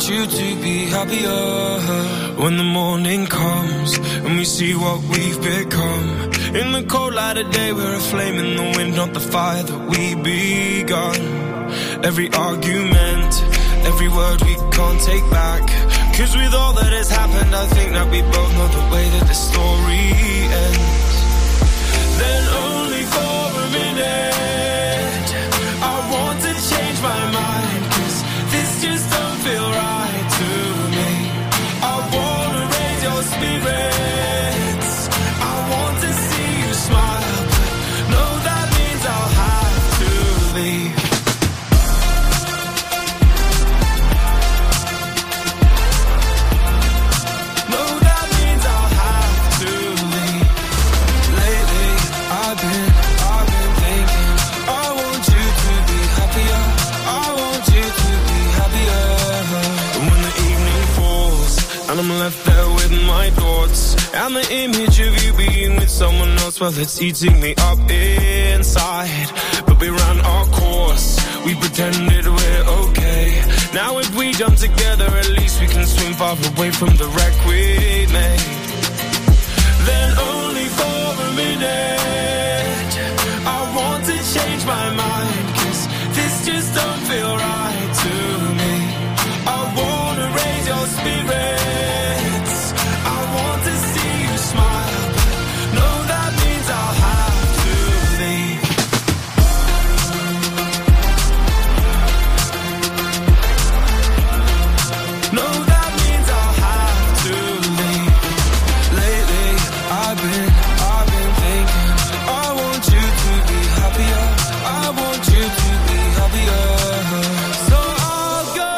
want you to be happier. When the morning comes and we see what we've become, in the cold light of day we're a flame in the wind, not the fire that we begun. Every argument, every word we can't take back, 'cause with all that has happened I think that we both know the way that the story ends. Then only for a minute I want to change my mind, 'cause this just don't feel right to me. I wanna raise your spirits, I want to see you smile, but no, that means I'll have to leave. No, that means I'll have to leave. Lately I've been thinking, I want you to be happier, I want you to be happier. And when the evening falls and I'm left there with my thoughts, and the image of you being with someone else, well, it's eating me up inside. But we ran our course, we pretended we're okay. Now if we jump together, at least we can swim far away from the wreck we made. Then only for a minute I want to change my mind, 'cause this just don't feel right to me. I wanna raise your spirits, I want to see you smile, but no, that means I'll have to leave. No, that means I'll have to leave. Lately I've been thinking, I want you to be happier, I want you to be happier. So I'll go,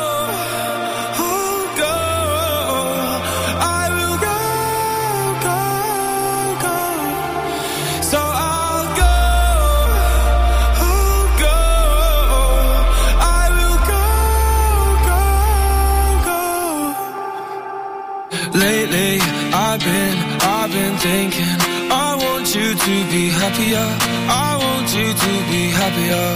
I will go. So I'll go, I will go. Lately I've been thinking, I want you to be happier, I want you to be happier.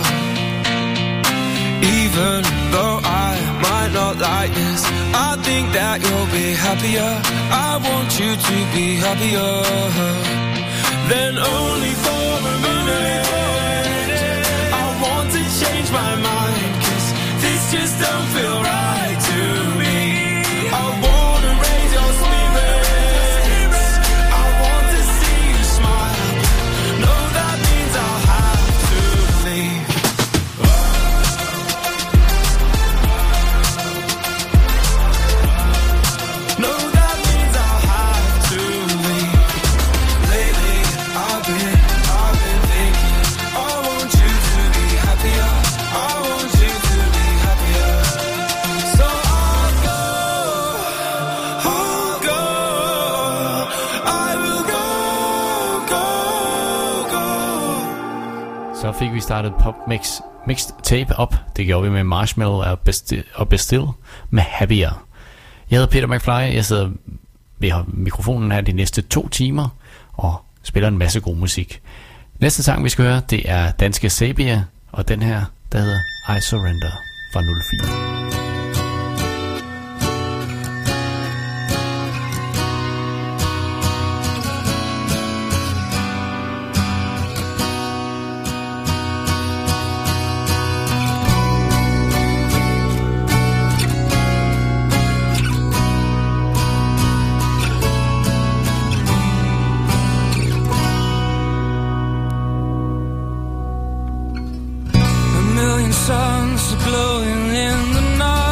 Even though I might not like this, I think that you'll be happier, I want you to be happier. Then only for a minute I want to change my mind, 'cause this just don't feel right to me. I wanna raise your spirits, I want to see you smile, no, that means I'll have to leave. No, that means I'll have to leave. Lately I've been thinking, I want you to be happier, I want you to be happier. So I'll go, I will go. Så fik vi startet mixed tape op. Det gjorde vi med Marshmallow og Bastille med Happier. Jeg hedder Peter McFly. Jeg sidder ved mikrofonen her de næste 2 timer og spiller en masse god musik. Næste sang vi skal høre, det er danske Sabia, og den her, der hedder I Surrender fra 04. Suns are glowing in the night.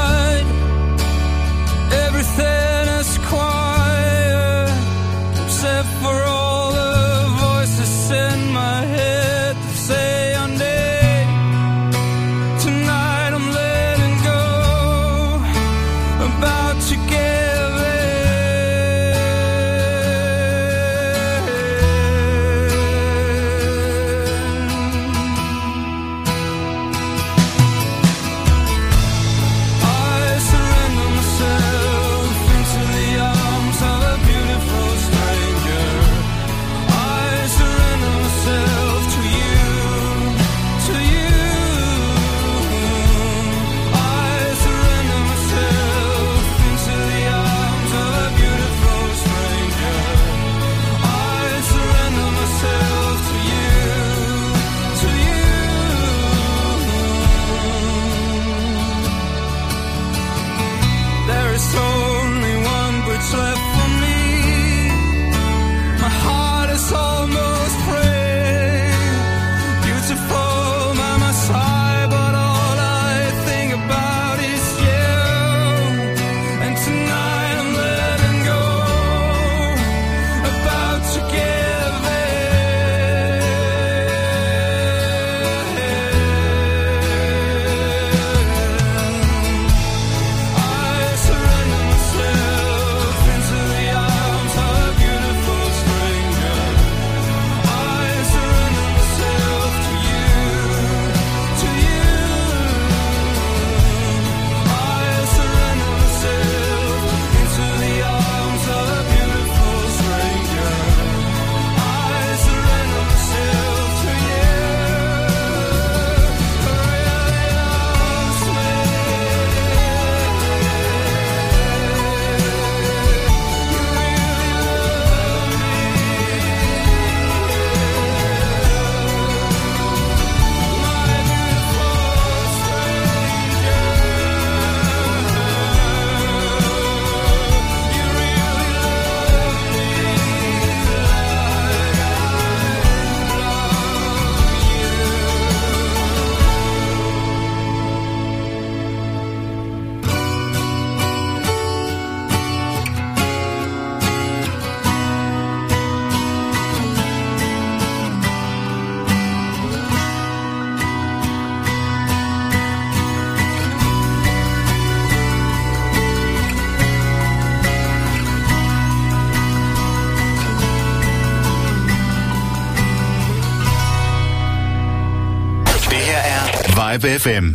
Live FM.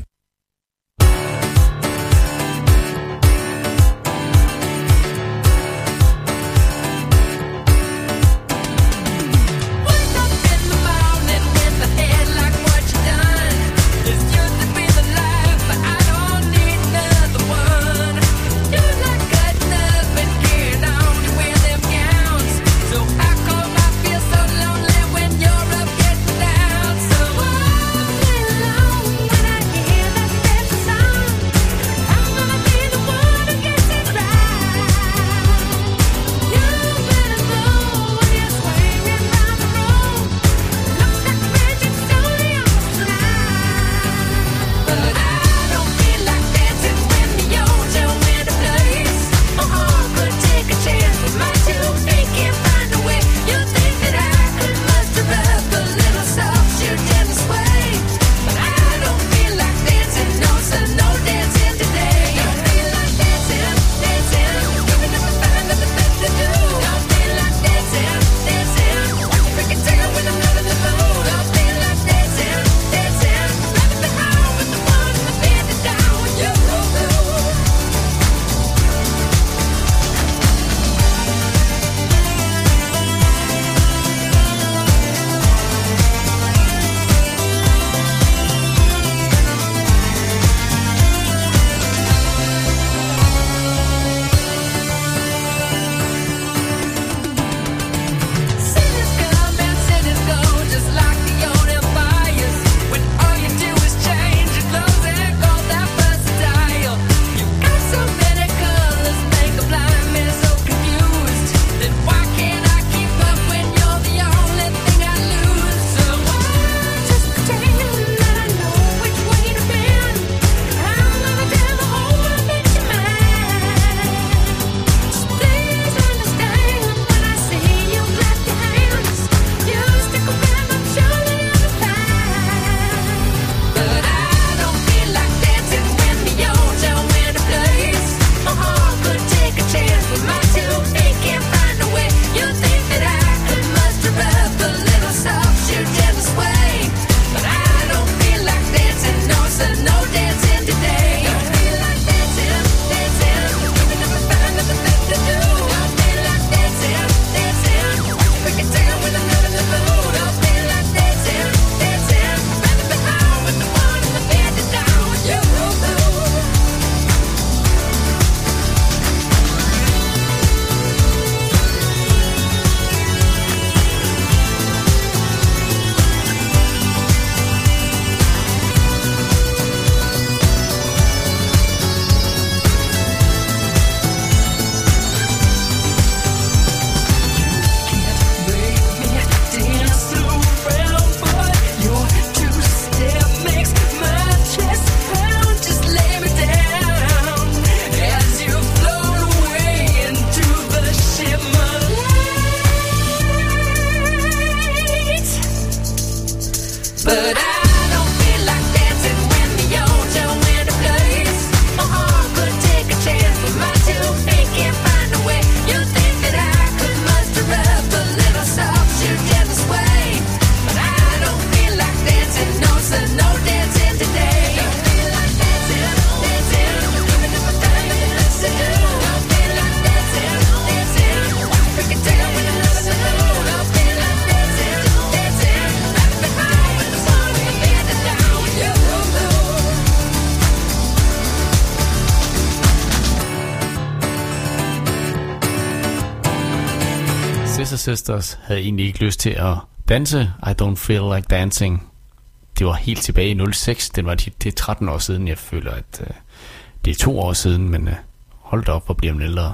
Sisters havde egentlig ikke lyst til at danse I Don't Feel Like Dancing. Det var helt tilbage i 06. Det er 13 år siden. Jeg føler, at det er 2 år siden, men hold da op, hvor bliver man ældre.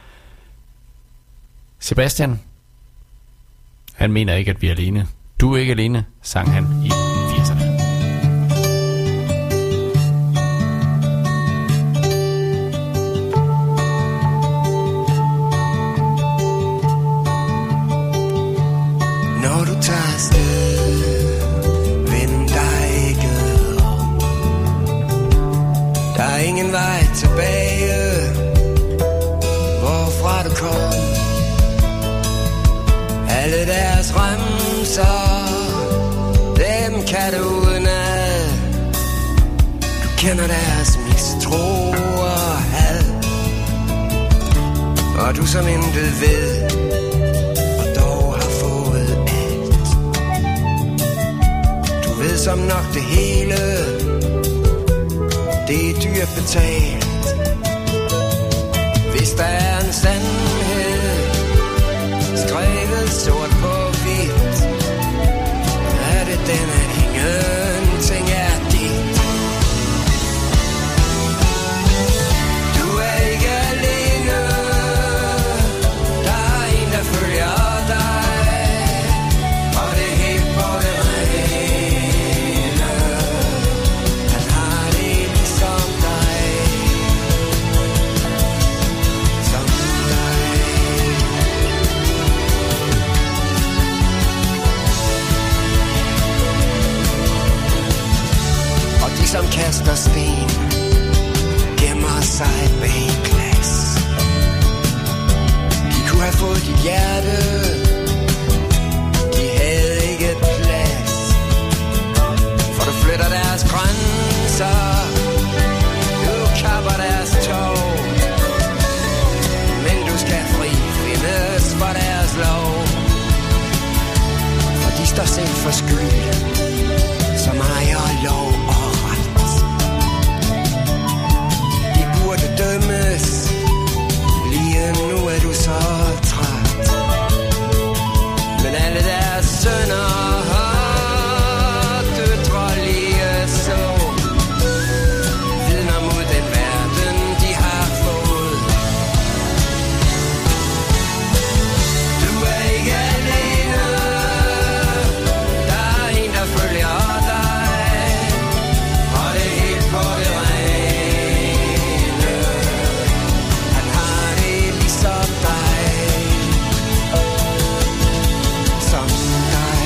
Sebastian, han mener ikke, at vi er alene. Du er ikke alene, sang han i 80'erne. Når du tager afsted, vend dig ikke om. Der er ingen vej tilbage, hvorfra du kom. Alle deres remser, dem kender deres mistro og had. Og du som intet ved, og dog har fået alt. Du ved som nok det hele, det er dyrt betalt. Hvis der er en sandhed, skrevet sort på hvidt, er det den, at ingenting er dit. Du er ikke alene, der er en, der følger dig, og det er helt på det rene. Han har det ligesom dig, som dig. Og de som kaster sten, gemmer sig bag glas. De kunne have fået dit hjerte, de havde ikke plads. For du flytter deres grænser, du kapper deres tog. Men du skal frifindes for deres lov. For de står selv for skyld, som ejer lov og ret. De burde dømmes, lige nu er du så træt. Men alle deres sønner har døtre lige så, vidner mod den verden, de har fået. Du er ikke alene, der er en, der følger dig, og det er helt på det rene. Han har det ligesom dig, som dig.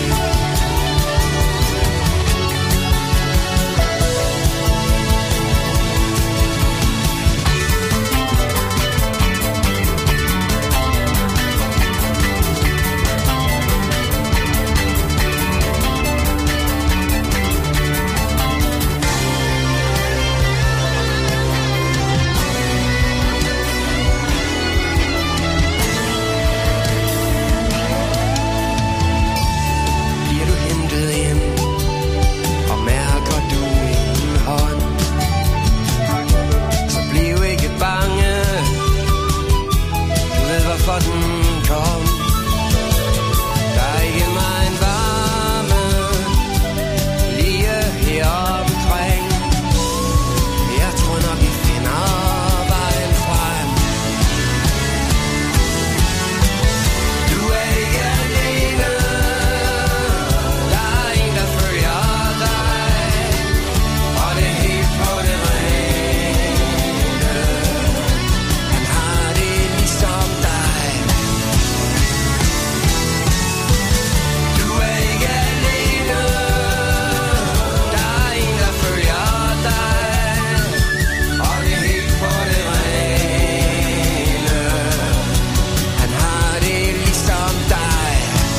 Bliver du hentet ind, og mærker du en hånd, så bliv ikke bange, du ved hvorfor den kom. Der er ikke meget varme lige her omkring. Jeg tror nok vi finder vejen frem. Du er ikke alene, der er en, der følger dig, og det er helt på det rene. Han har det ligesom dig. Du er ikke alene, der er en, der følger dig, og det er helt på det rene. Han har det ligesom dig.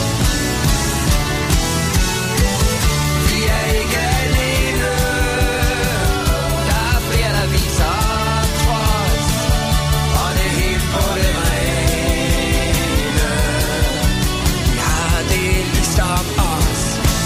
Vi er ikke alene, der er flere, der viser trods, og det er helt på det rene. Vi har det ligesom os.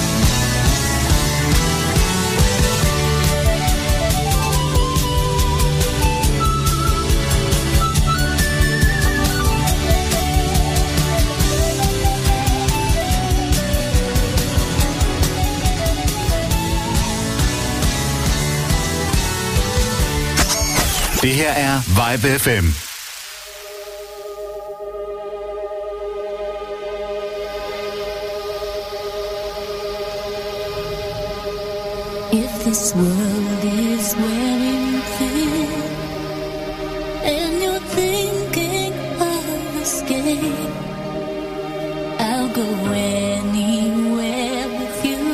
Det her er Vibe FM. If this world is wearing thin and you're thinking of escape, I'll go anywhere with you.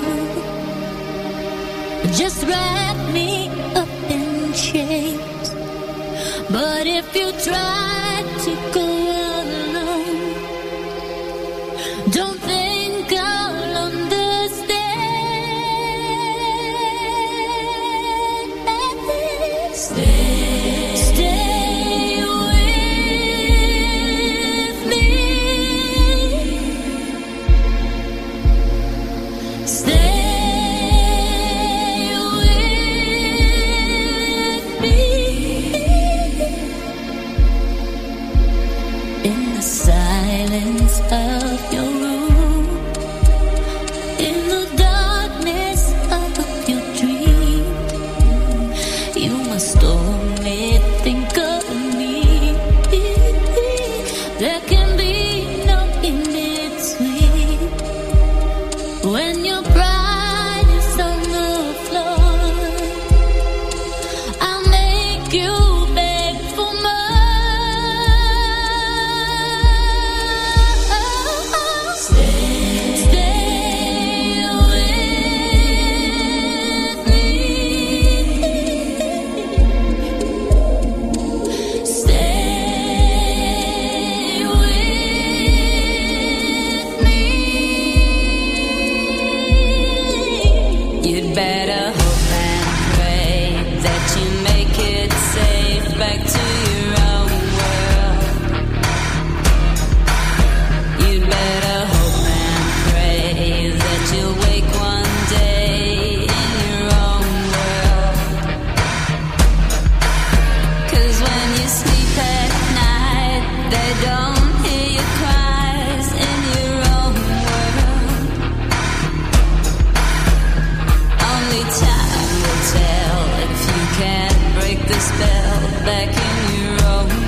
Just wrap me up in chains. But if you try to go alone, don't think I'll understand. They don't hear your cries in your own world. Only time will tell if you can't break the spell back in your own world.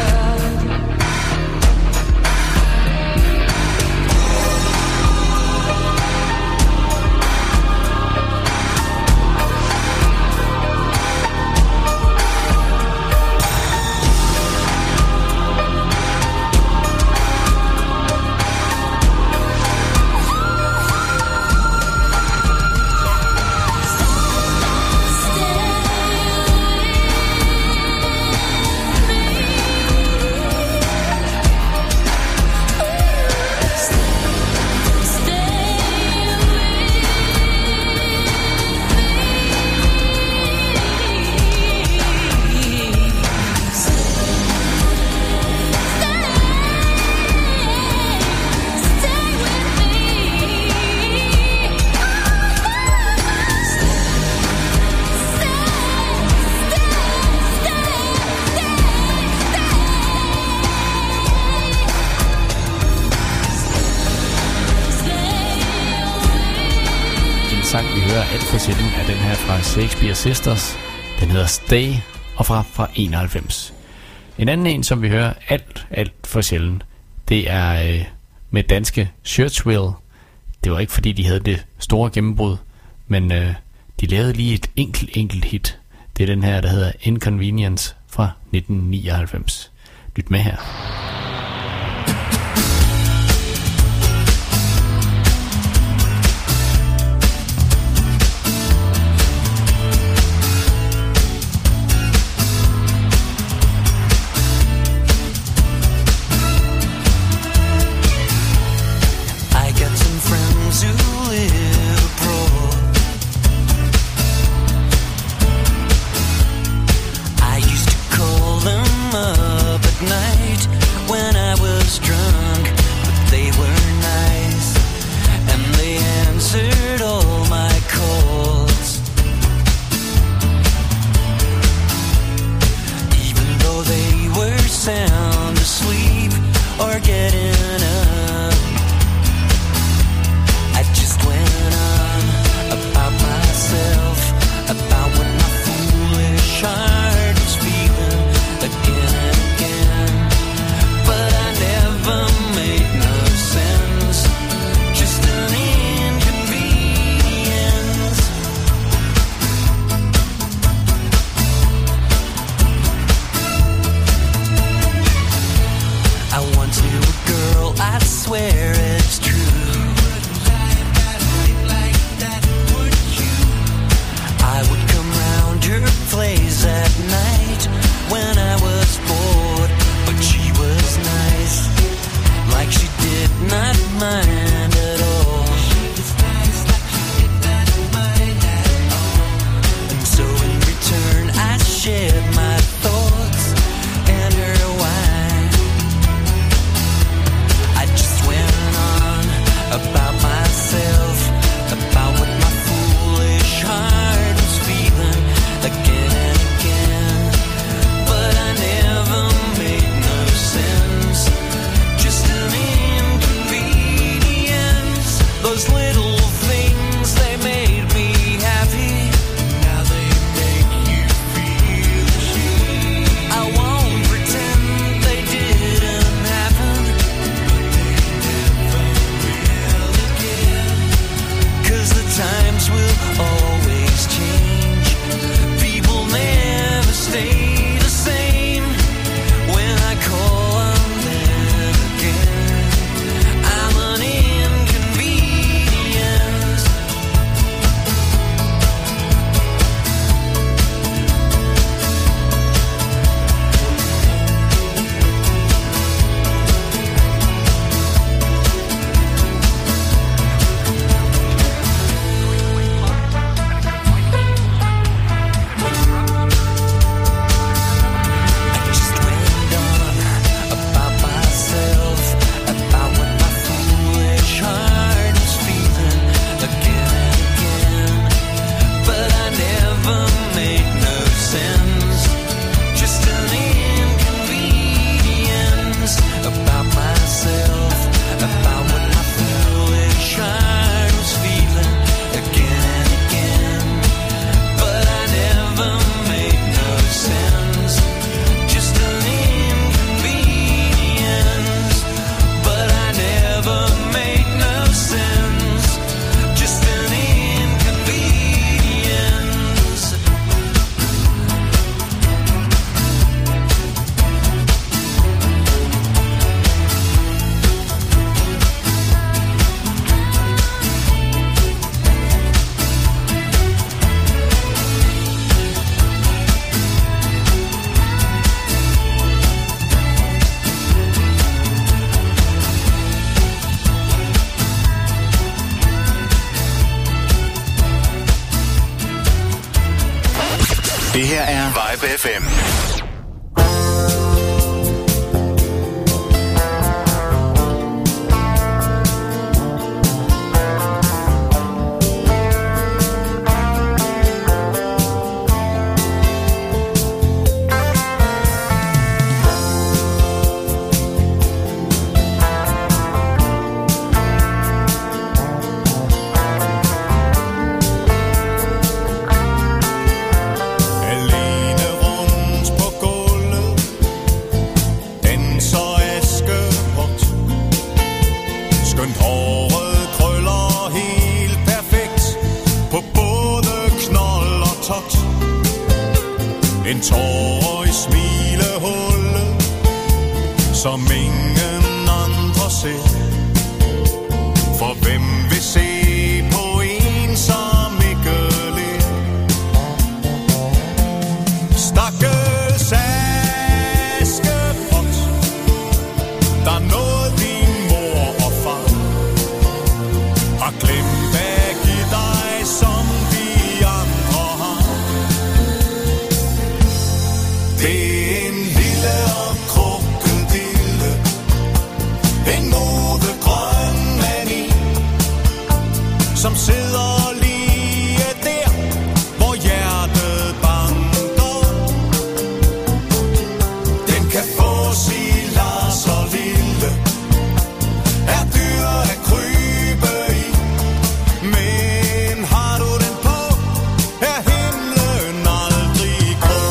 sang, vi hører alt for sjældent, er den her fra Shakespeare Sisters. Den hedder Stay, og fra 91. En anden en, som vi hører alt for sjældent, det er med danske Churchwill. Det var ikke fordi, de havde det store gennembrud, men de lavede lige et enkelt hit. Det er den her, der hedder Inconvenience fra 1999. Lyt med her. I once knew a girl her er Vibe FM. En tår i smilehullet, som ingen andre ser. For hvem vil se på en, som ikke ler? Stakkels Askepot, der nåede din mor og far, har glemt at give dig, som de andre har. Det er en lille og krokodille, en modegrøn mani, som sidder lige der, hvor hjertet banker. Den kan få sig Lars og Lille, er dyr at krybe i, men har du den på, er himlen aldrig grå.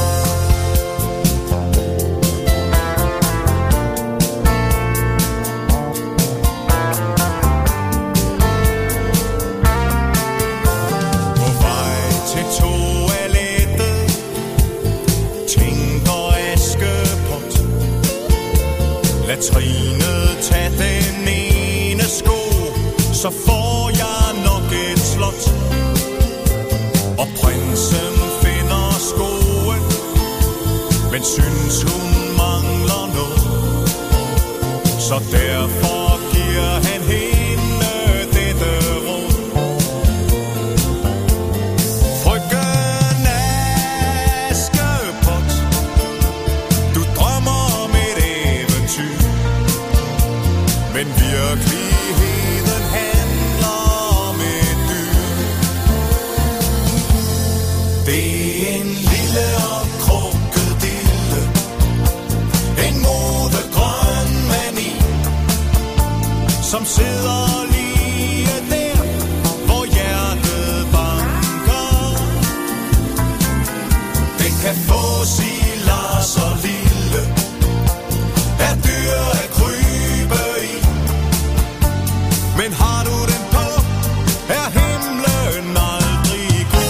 På vej til toilettet tænker Askepot, lad Trine tage den ene sko, så får jeg nok et slot. Og prinsen finder skoen, men synes hun mangler noget, så derfor giver han hende dette råd. Frøken Askepot, du drømmer om et eventyr, men virkeligheden handler om et dyr. Det er en lille og krokodille, en modegrøn mani, som sidder lige der, hvor hjertet banker. Den kan få sig Lars og Lille, er dyr at krybe i, men har du den på, er himlen aldrig grå.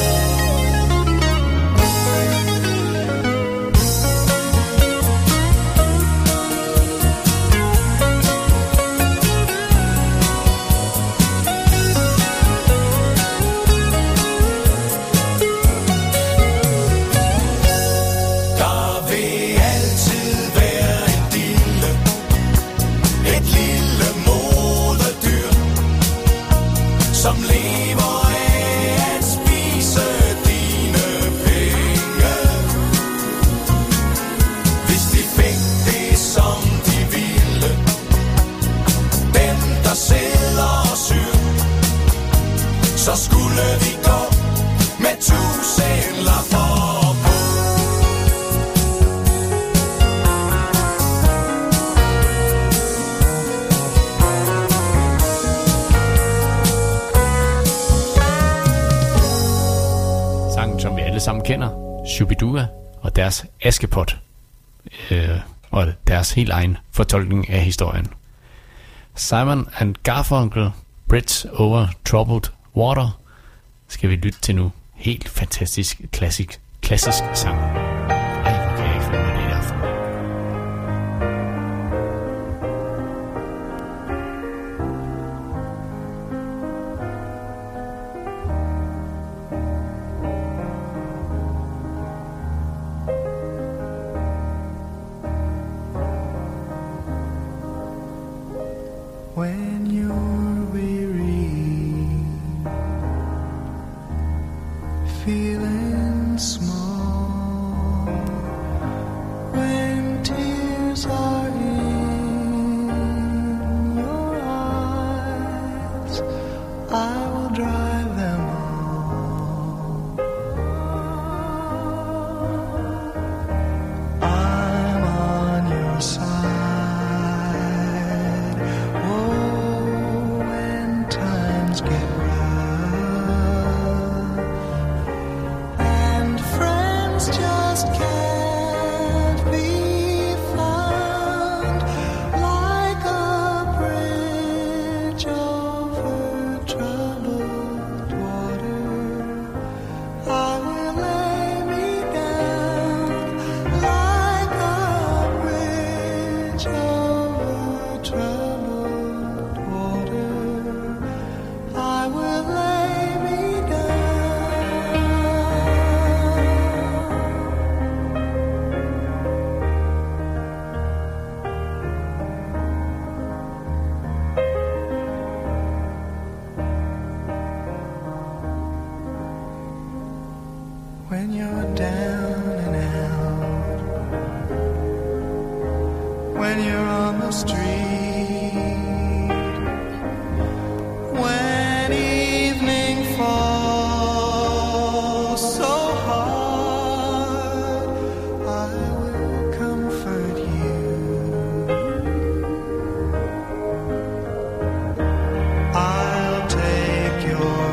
Der vil altid være en dille, et lille modedyr, som lever af at spise dine penge. Hvis de fik det, som de ville, dem der sidder og syr, så skulle vi gå med 1000 lapper på. Sangen, som vi alle sammen kender, Shubidua og deres Askepot, og deres helt egen fortolkning af historien. Simon and Garfunkel, Bridge Over Troubled Water, skal vi lytte til nu. Helt fantastisk klassisk sang. Ej, hvor kan jeg ikke følge med det i aften. When you're weary, feeling small, when you're on the street. When evening falls so hard, I will comfort you. I'll take your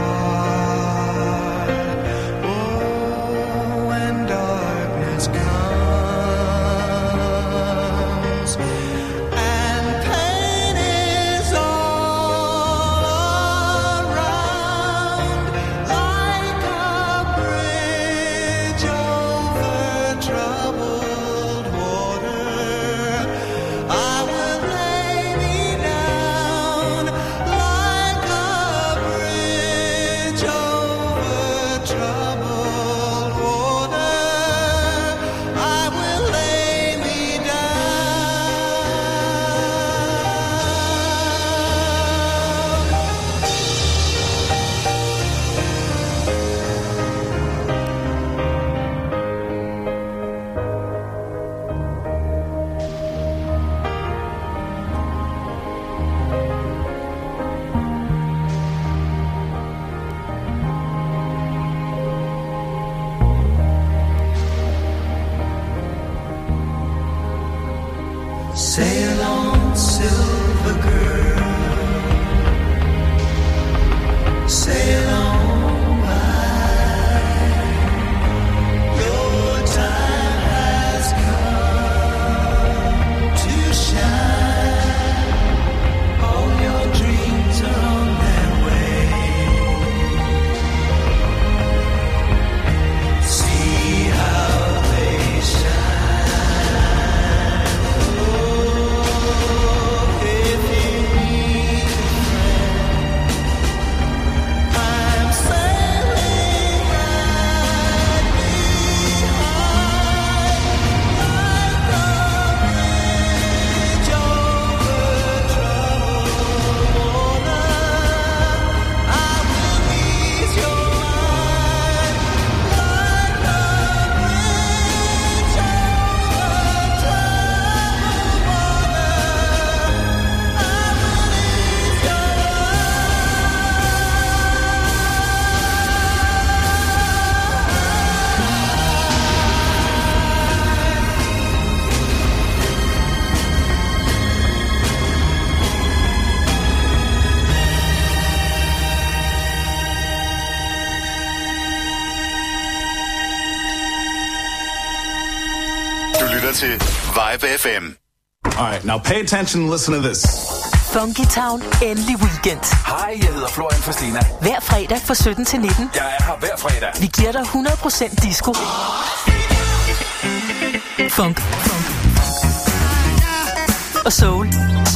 part. Oh, when darkness comes and pain is all around, like a bridge over troubled water, I will lay me down. Like a bridge over troubled water, I will lay me sail on, silver girl, sail on by. Your time has come to shine. All your dreams are on their way. See how they shine. Oh, if you need a friend, I'm sailing right behind. Like a bridge over troubled water, I will ease your mind. Like a bridge over troubled water, I will ease your Du lytter til Vibe FM. All right, now pay attention and listen to this. Funky Town, endelig weekend. Hej, jeg hedder Florian Fastina. Hver fredag fra 17 til 19. Jeg er her hver fredag. Vi giver dig 100% disco. Funk. Og soul.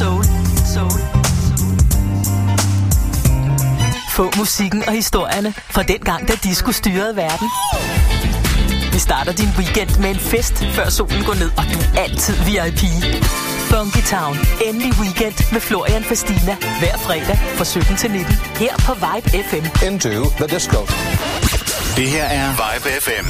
Få musikken og historierne fra den gang, da disco styrede verden. Vi starter din weekend med en fest, før solen går ned, og du er altid VIP. Funky Town, endelig weekend med Florian Fastina. Hver fredag fra 17 til 19. Her på Vibe FM. Into the disco. Det her er Vibe FM.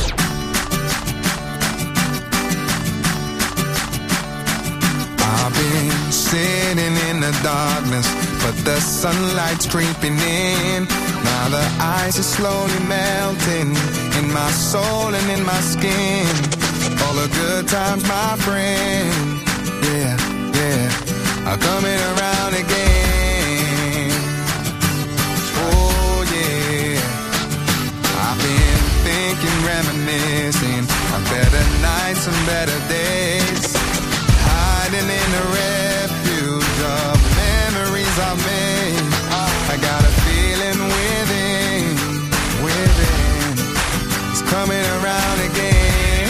I've been sitting in the darkness, but the sunlight's creeping in. Now the ice is slowly melting in my soul and in my skin. All the good times, my friend, yeah, are coming around again. Oh yeah, I've been thinking, reminiscing on better nights and better days. Hiding in the refuge of memories I've made. I got a feeling within, it's coming around again.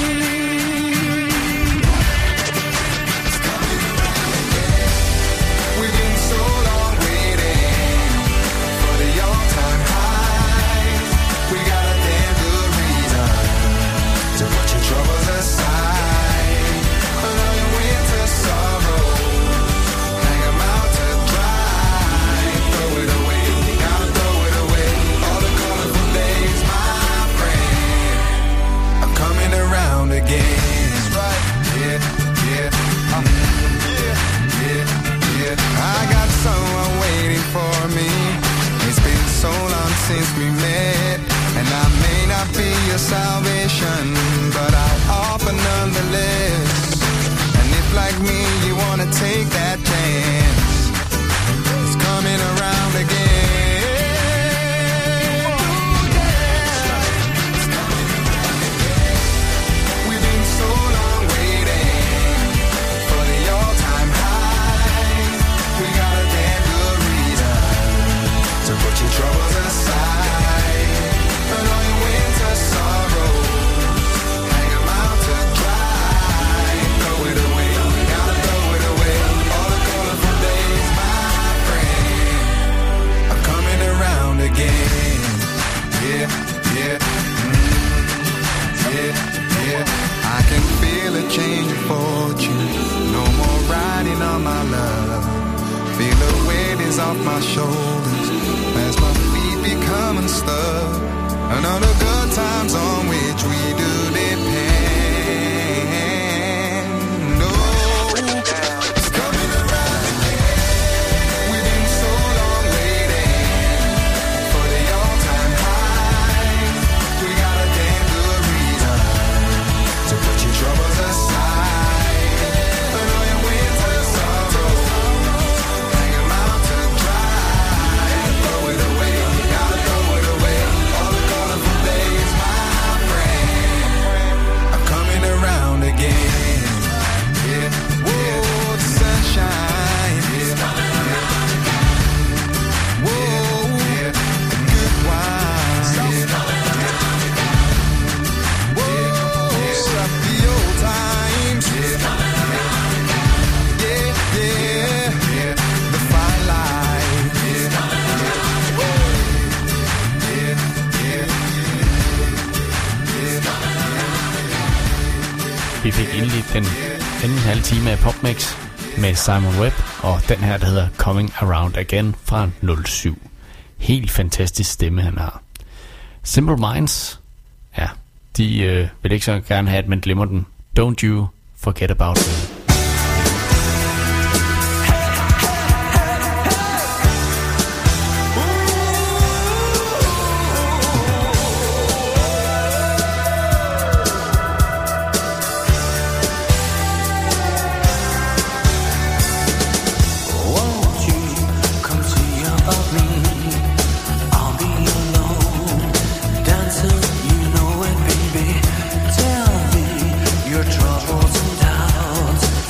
It's coming around again. We've been so long waiting for the all-time high. We got a damn good reason to put your troubles aside. wanna take that chance. It's coming around again. We've been so long waiting for the all-time high. We got a damn good reason to put your troubles aside. And all your winter sorrows, hang 'em out to dry. Throw it away, gotta throw it away. All the colorful days, my friend, are coming around again. Yeah, yeah, yeah, yeah. I can feel a change of fortune. No more riding on my love. Feel the weight is off my shoulders as my feet become unstuck. And all the good times on which we do depend. Oh, it's coming around again. We've been so long waiting for the all-time high. We got a damn good reason to put your troubles aside. And all your winter sorrows, hang 'em out to dry. Throw it away, gotta throw it away. All the colorful days, my friend, are coming around again. Yeah, whoa, the sunshine. Yeah, whoa, the good wine. Whoa, the old times. Yeah, yeah, the fine line. Vi fik endelig den anden halve time af PopMix med Simon Webb, og den her, der hedder Coming Around Again fra 07. Helt fantastisk stemme, han har. Simple Minds, ja, de vil ikke så gerne have, at man glemmer den. Don't you forget about me. Won't you come see about me? I'll be alone, dancing, you know it, baby. Tell me your troubles and doubts.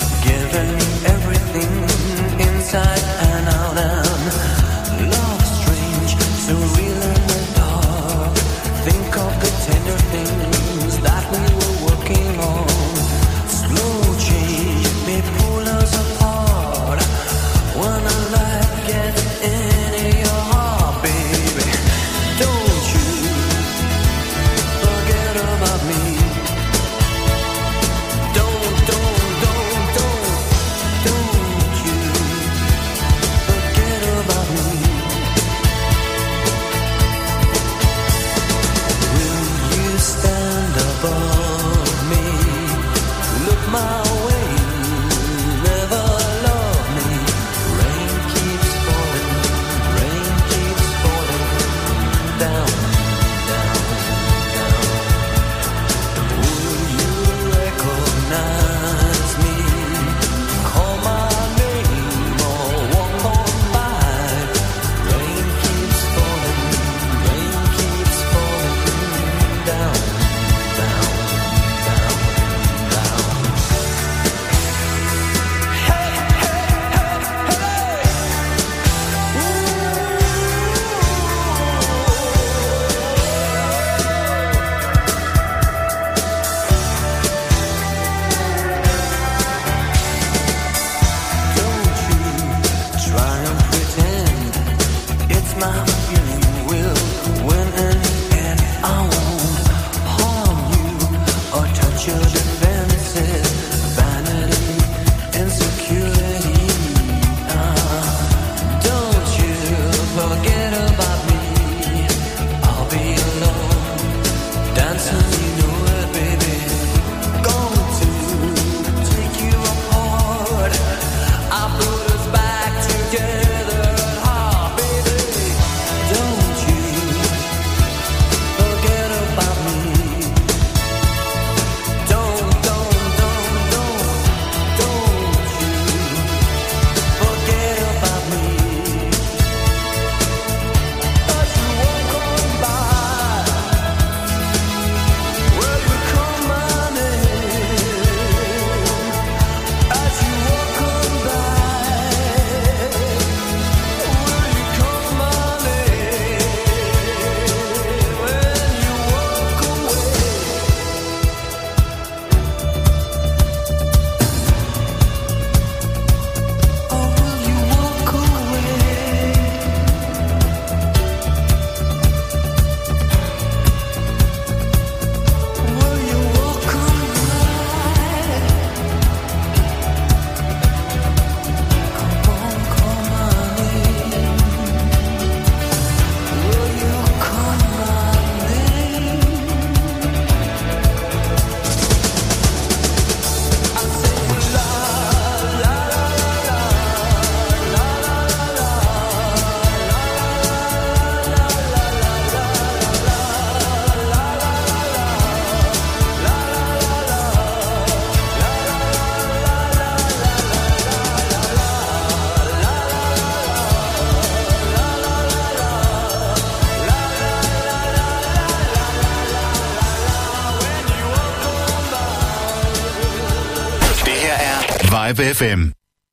Vibe FM.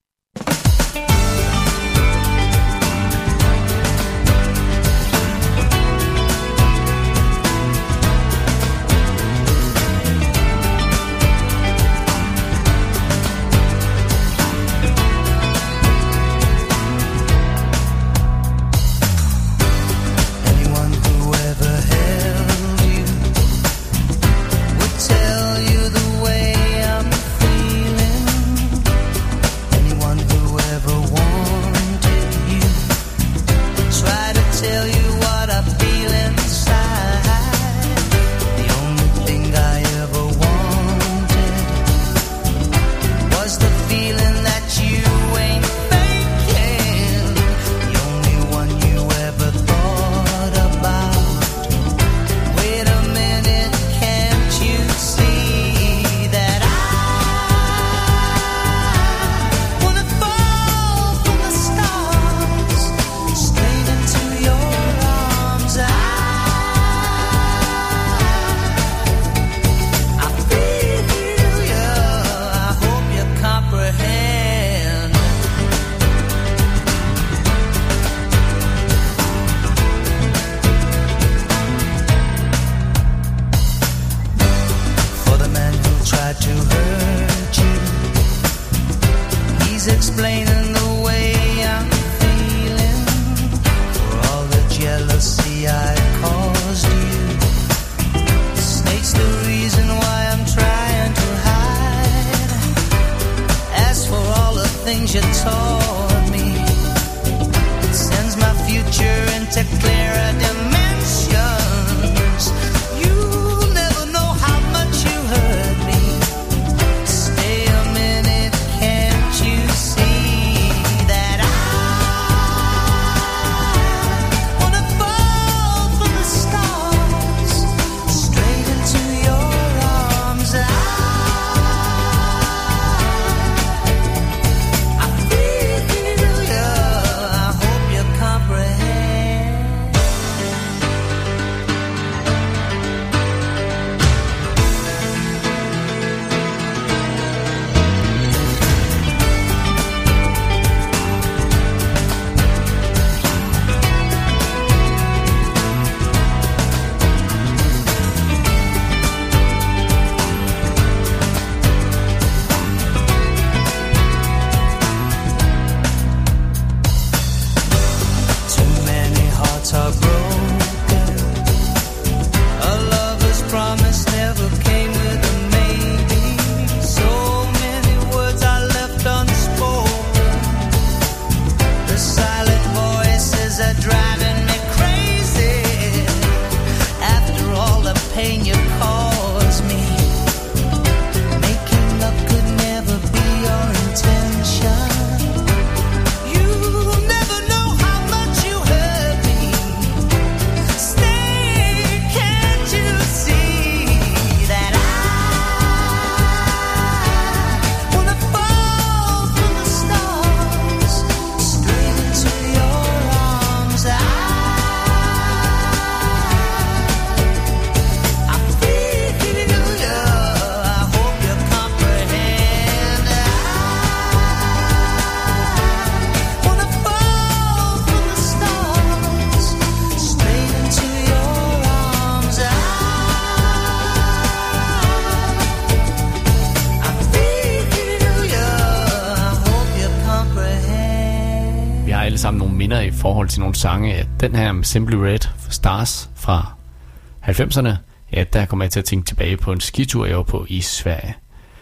I forhold til nogle sange, at den her Simply Red for Stars fra 90'erne, ja, der kommer jeg til at tænke tilbage på en skitur, jeg var på i Sverige.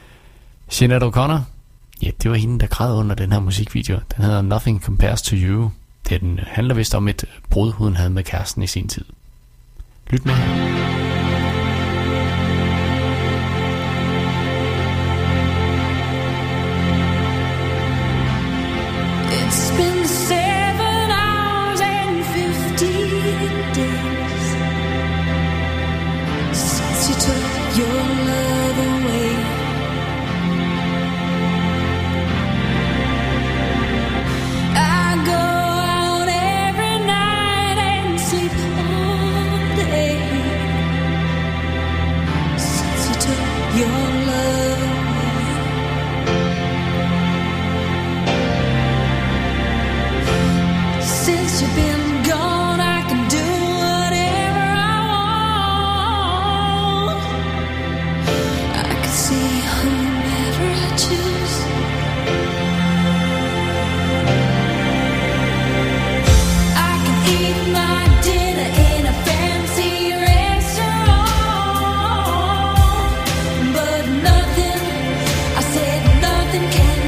Sinéad O'Connor, ja, det var hende, der græd under den her musikvideo. Den hedder Nothing Compares to You. Den handler vist om et brud, hun havde med kæresten i sin tid. Lyt med her. It's been 7 hours and 15 days since you took your love away. I go out every night and sleep all day.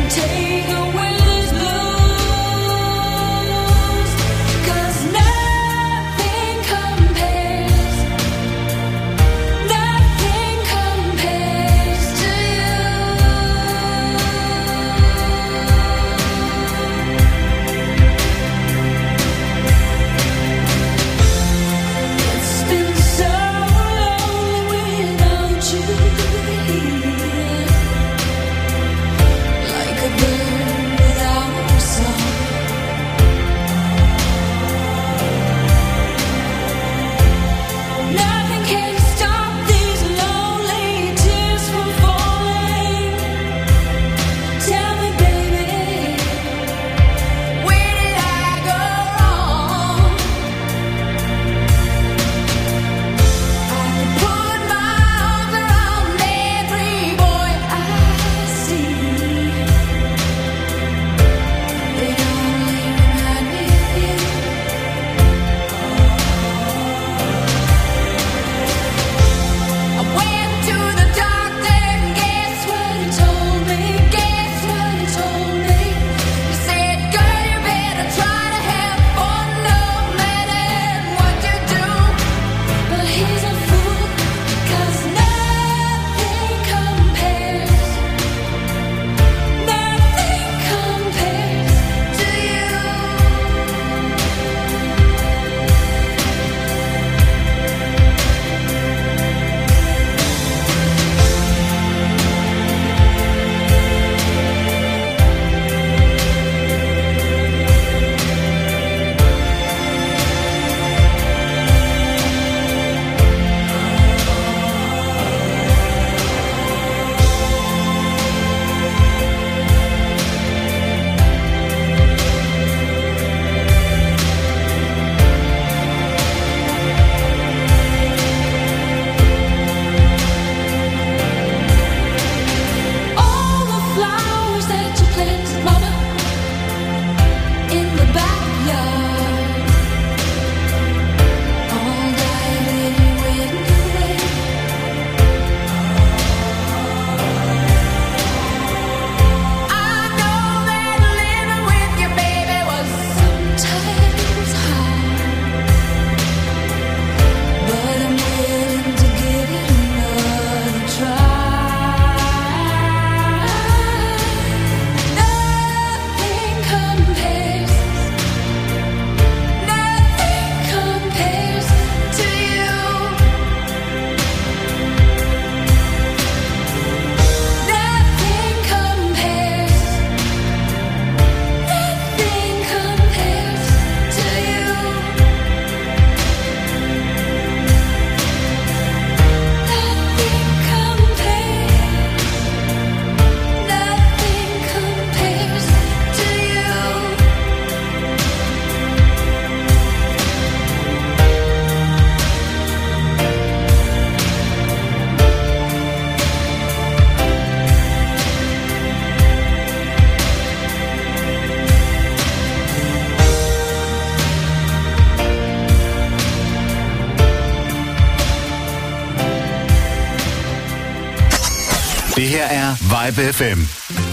Det her er Vibe FM.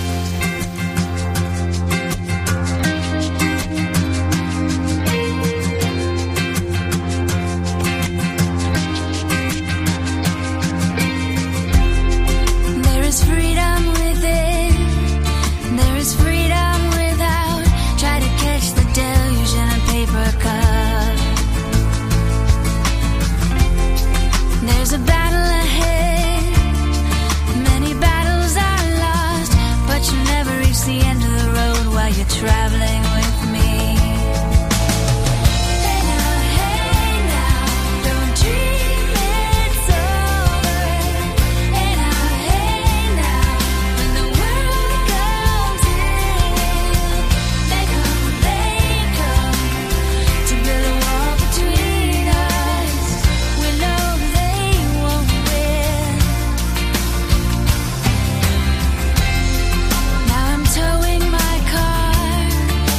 Traveling with me. Hey now, don't dream it's over. Hey now, when the world comes in, they come to build a wall between us. We know they won't win. Now I'm towing my car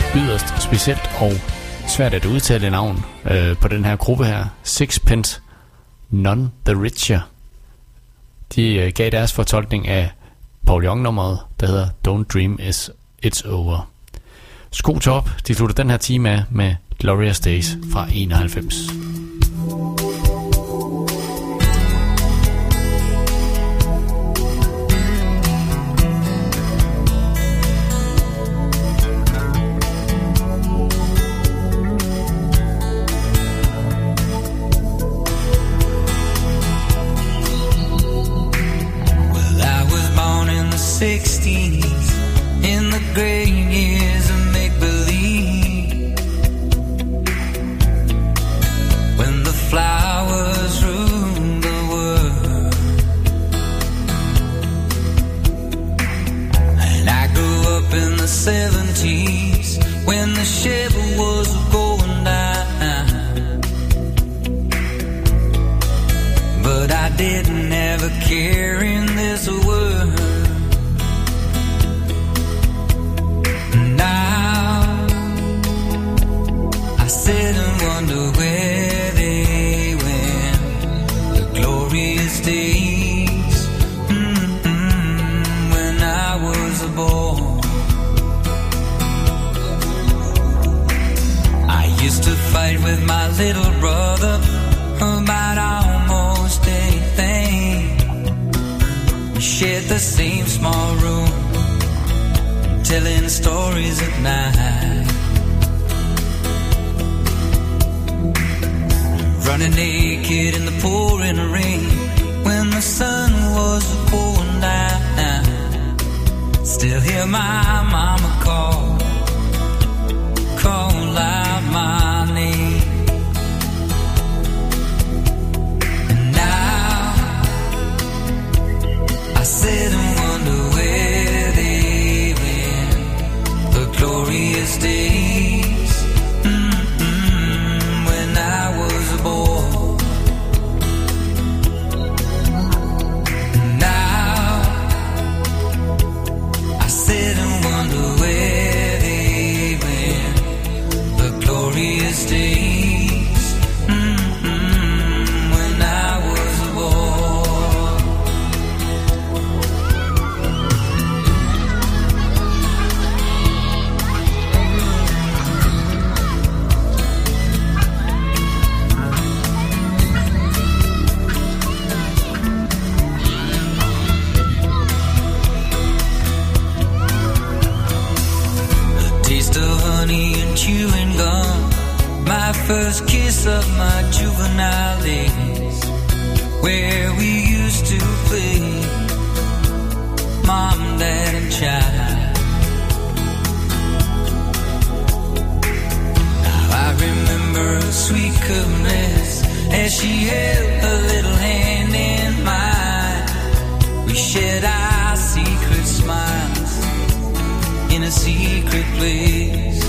yderst specielt og svært at udtale navn på den her gruppe her. Sixpence None the Richer. De gav deres fortolkning af Paul Young-nummeret, der hedder Don't Dream It's Over. Sko top, de slutter den her time af med Glorious Days fra 91. In the great years of make-believe, when the flowers ruled the world, and I grew up in the 70s when the ship was going down, but I didn't ever care in this world. Sit and wonder where they went, the glorious days, when I was a boy. I used to fight with my little brother about almost anything. We shared the same small room, telling stories at night. Running naked in the pouring rain when the sun was going down. Still hear my mama call out my name. And now I sit and wonder where they went, the glorious days, when I was a boy. Now I sit and wonder where they went, the glorious days, when I was a boy. Taste of honey and chewing gum, my first kiss of my juvenile days, where we used to play mom, dad and child. Now I remember a sweet caress as she held a little hand in mine. We shared our secret smiles in a secret place.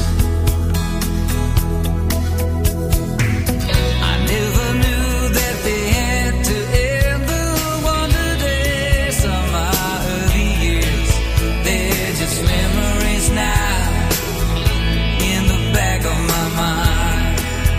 I never knew that they had to ever wonder days of my early years. They're just memories now in the back of my mind.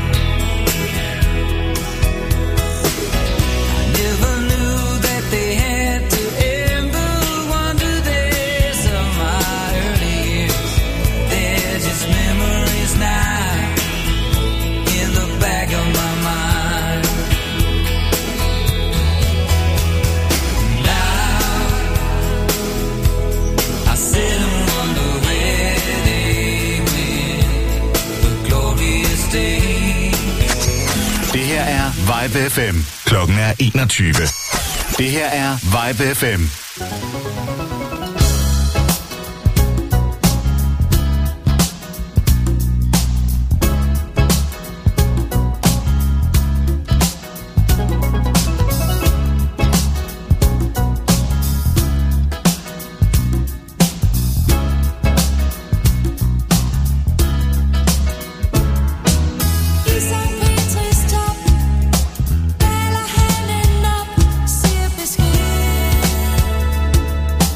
I never knew that they had to ever wonder days of my early years. They're just memories now in the back of my mind. Now I sit and wonder where they went, the glorious days. Det her er Vibe FM. Klokken er 21. Det her er Vibe FM. Især Petris top, bæler handen op, siger besked.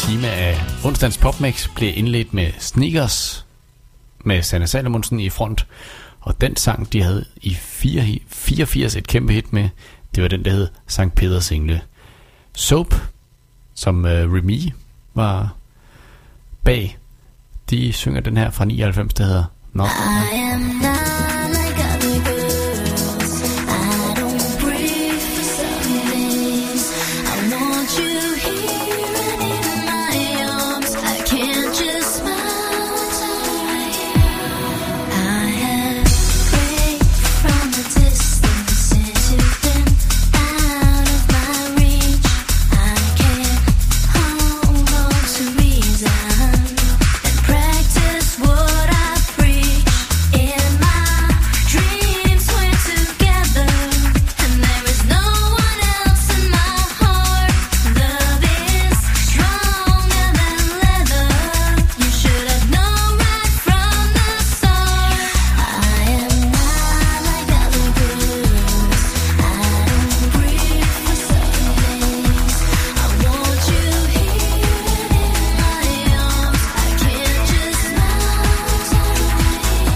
time af onsdagens Popmix blev indledt med Sneakers med Sanne Salomonsen i front. Og den sang, de havde i 84 et kæmpe hit med, det var den, der hed Sankt Peders Engle. Soap, som Remy var bag, de synger den her fra 99, der hedder Not. I am not like other girls. I don't breathe for some days. I want you here and in my arms. I can't just smile away. I have prayed from a distance since you've been out of my reach. I can't hold on to reason and practice what I preach. In my dreams we're together, and there is no one else in my heart. Love is stronger than leather. You should have known right from the start. I am not like other girls. I don't breathe for some days. I want you here in my arms. I can't just melt away.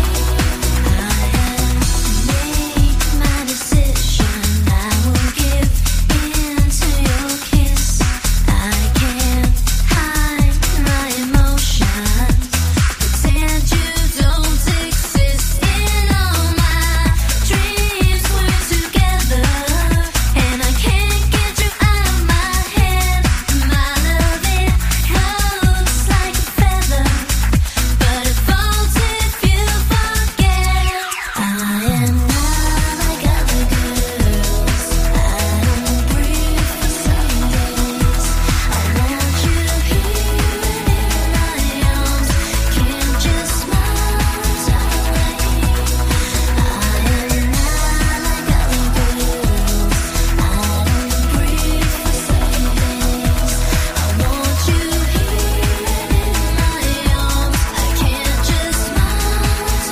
I have made my decision. I will give in to your kiss. I can't hide my emotions. Pretend you don't exist. In all my dreams we're together, and I can't get you out of my head. My love, it floats like a feather, but it falls if you forget. I am not like other girls. I don't breathe for some days. I want you here in my arms. Can't just smile away. I am not like other girls. I don't breathe for some days. I want you here in my arms. I can't just smile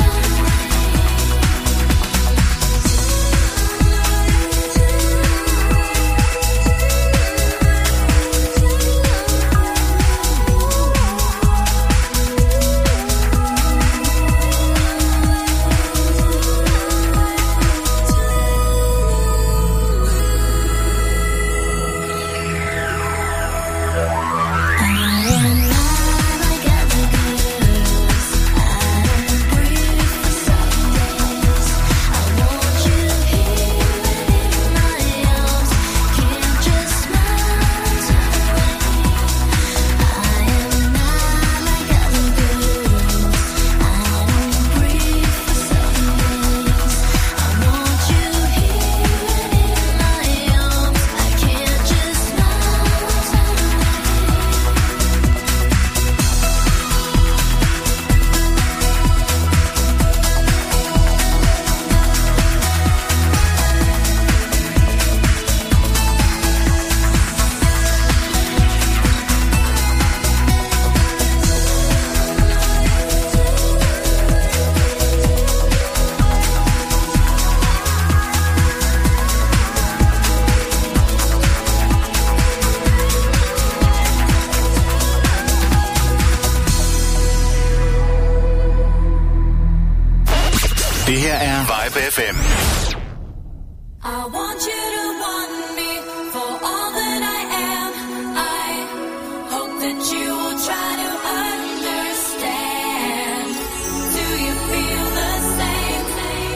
Det her er Vibe FM. I want you to want me for all that I am. I hope that you will try to understand. Do you feel the same?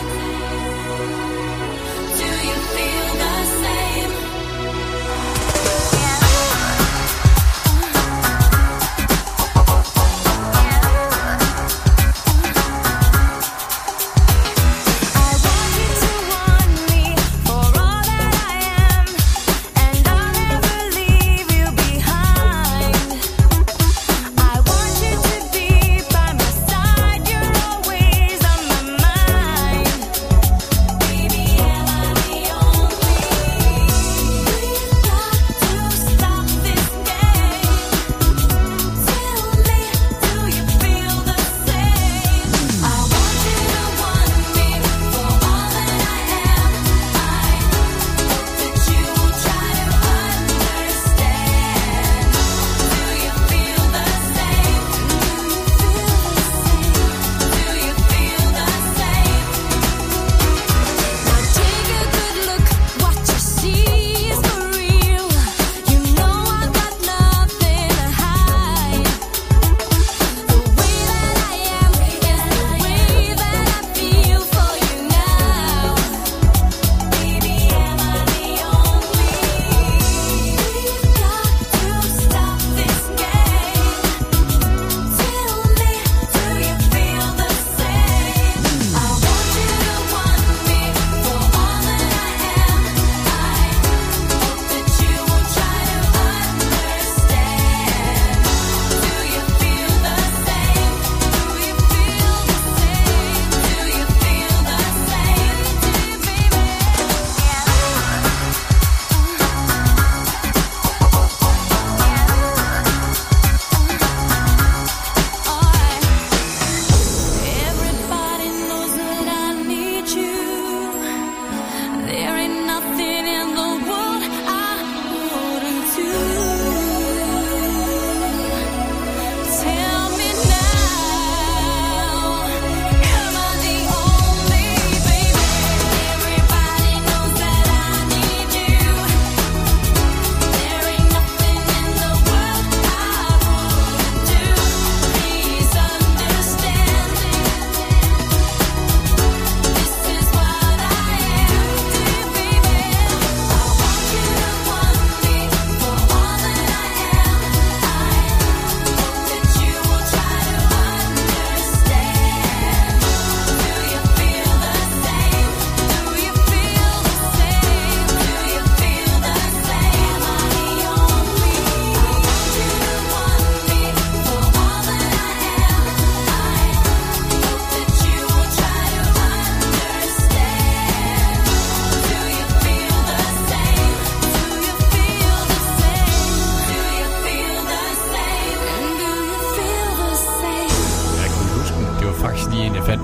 Do you feel the same? I want you to want me for all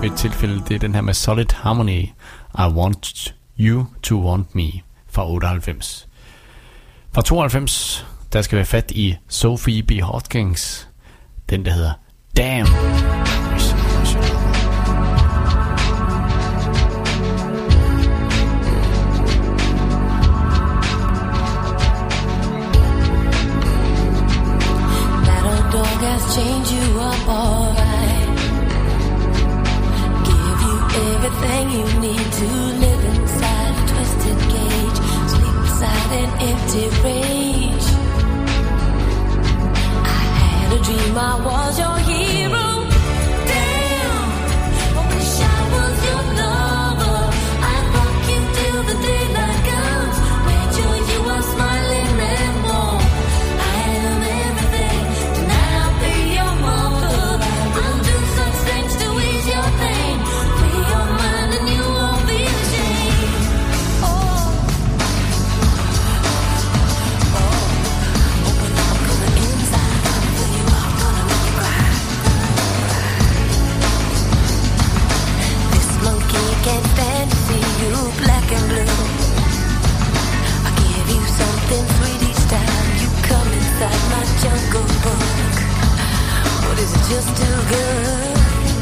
ved et tilfælde, det er den her med Solid Harmony, I Want You to Want Me fra 98. Fra 92, der skal være fat i Sophie B. Hawkins, den der hedder Damn. Change you up alright. Give you everything you need to live inside a twisted cage. Sleep inside an empty rage. I had a dream I was your hero. Damn, I wish I was your lover. I'd rock you till the daylight comes. Made sure you are smiling and warm. I am everything. Tonight I'll be your mother. I'll do such things to ease your pain. Free your mind and you won't be ashamed. Oh, when I'm coming inside, gonna fill you up, gonna make you cry. This monkey can't stand to see you black and blue. I give you something sweet each time you come inside my jungle book. What is it just too good?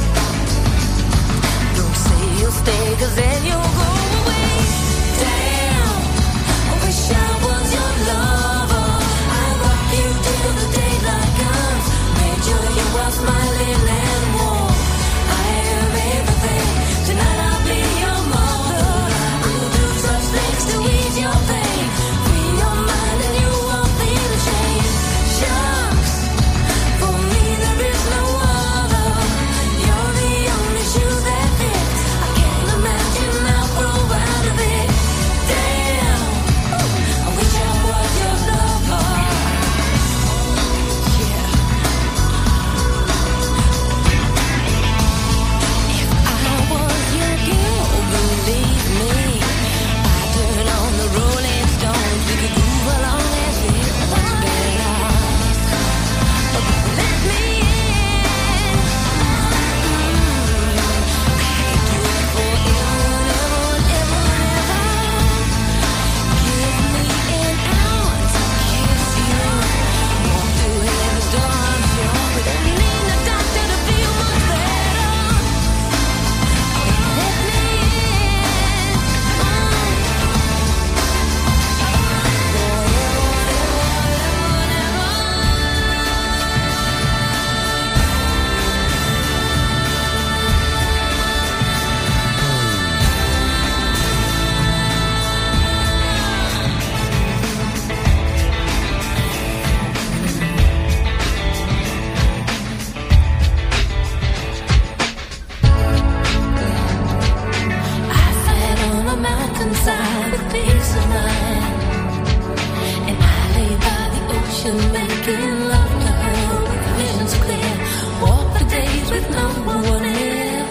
Don't say you'll stay, 'cause then you'll go away. Damn, I wish I was your lover. I rock you till the daylight comes. Made sure you are smiling and warm. I am everything. Tonight I'll be your mother. I'll do such things to ease your pain. Free your mind and you won't feel ashamed. Shucks, for me there is no other. You're the only shoe that fits. I can't imagine I'll grow out of it. Damn, I wish I was your lover. Yeah. If I was your girl, believe me, I'd turn on the Rolling Stones. We could move along as we once been lost. Let me in. I could do it forever and ever and ever. Give me an hour to kiss you. Walk through heaven's door, I'm sure. We don't need a doctor to feel much better. Let me in. I sat on a mountainside with peace of mind, and I lay by the ocean making love to her with visions clear. Walk the days with no one near,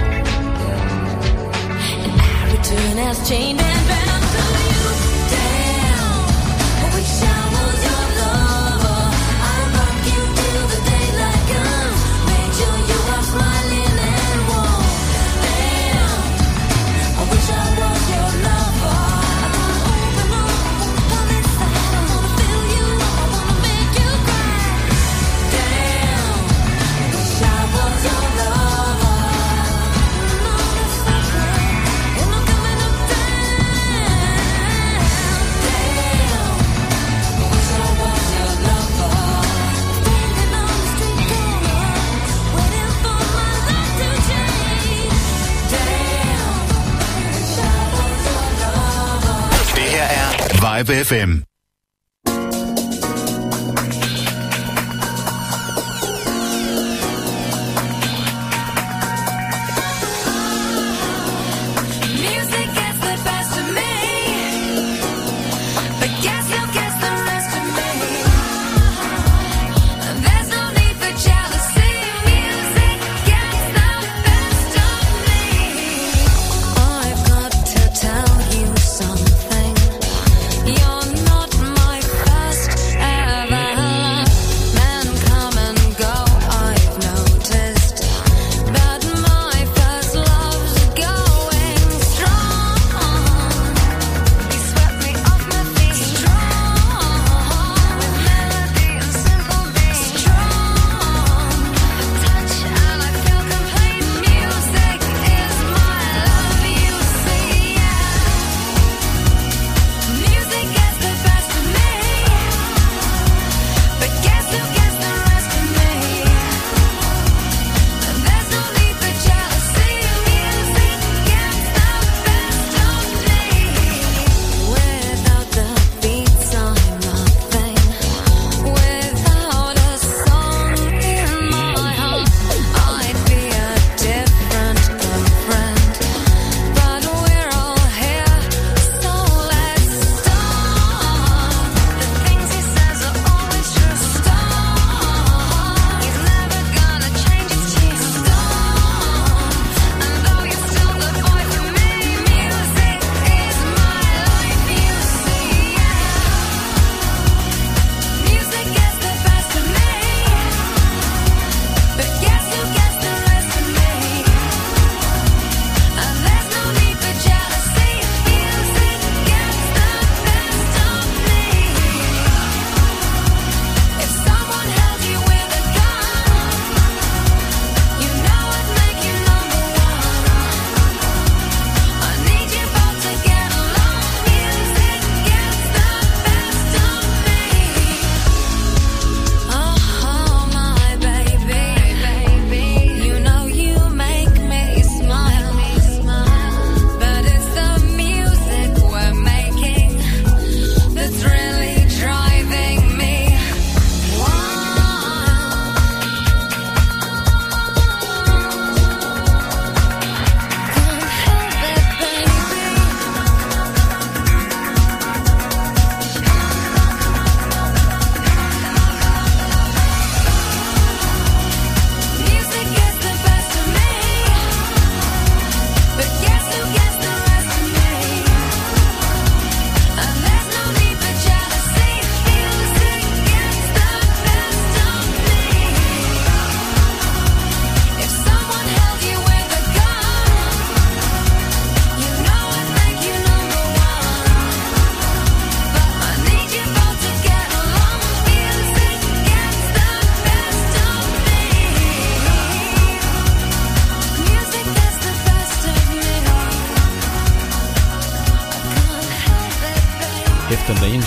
and I return as chained and bound to you. Damn, I wish I was your lover. I rock you till the daylight comes. Make sure you are smiling and warm. Damn, I wish I was your lover. I wanna open up, come inside. I wanna feel you up, I wanna make you cry. Damn, I wish I was your lover. No, that's not right. And I'm coming up down. Damn, I wish I was your lover. Standing on the street corner, waiting for my life to change. Damn, I wish I was your lover. Det her er Vibe FM. Music gets the best of me, but guess who gets the rest of me? There's no need for jealousy. Music gets the best of me. I've got to tell you something. You're not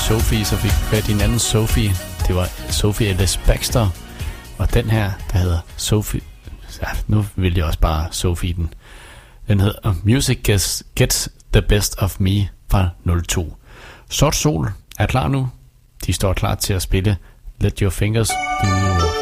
Sophie, så fik vi fat i en anden Sophie. Det var Sophie Ellis Baxter. Og den her, der hedder Sophie... Ja, nu vil jeg også bare Sophie den. Den hedder Music Gets the Best of Me fra 02. Sort Sol er klar nu. De står klar til at spille Let Your Fingers Do The Walking.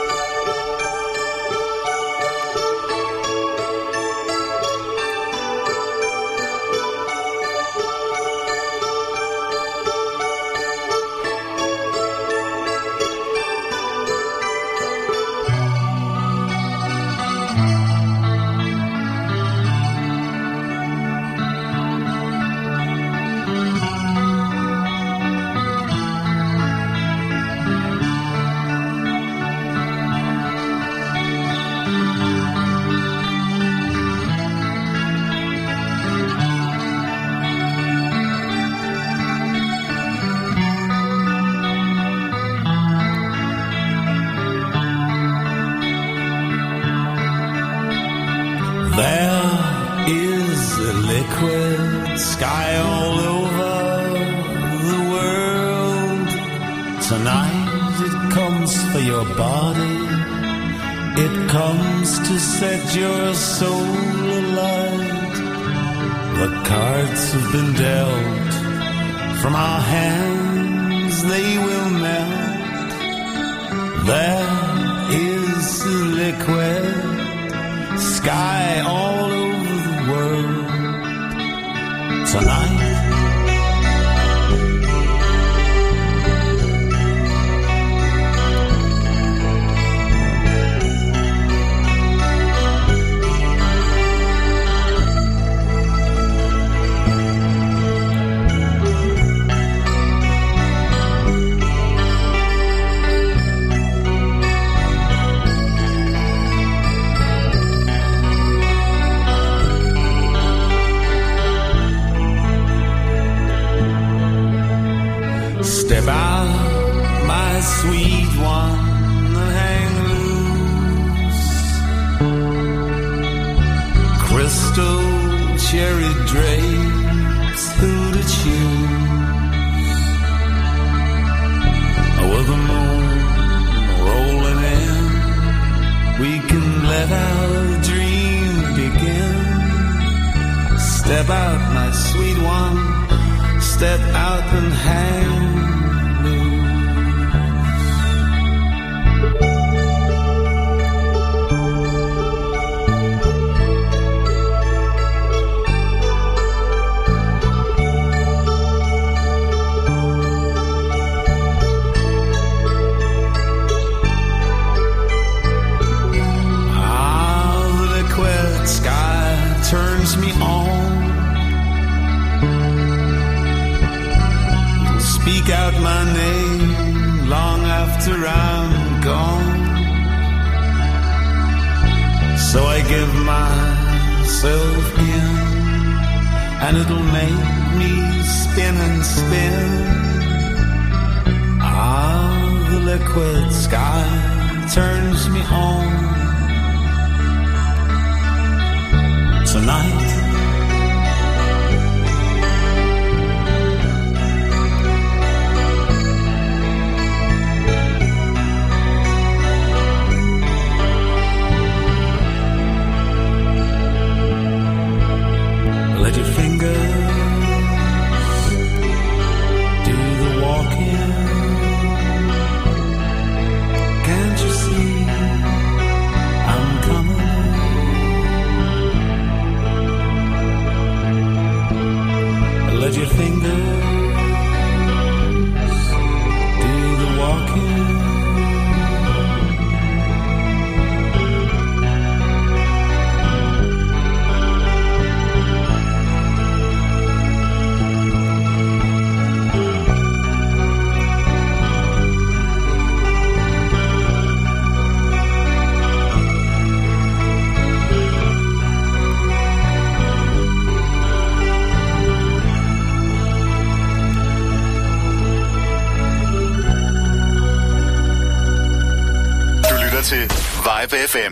til Vibe FM.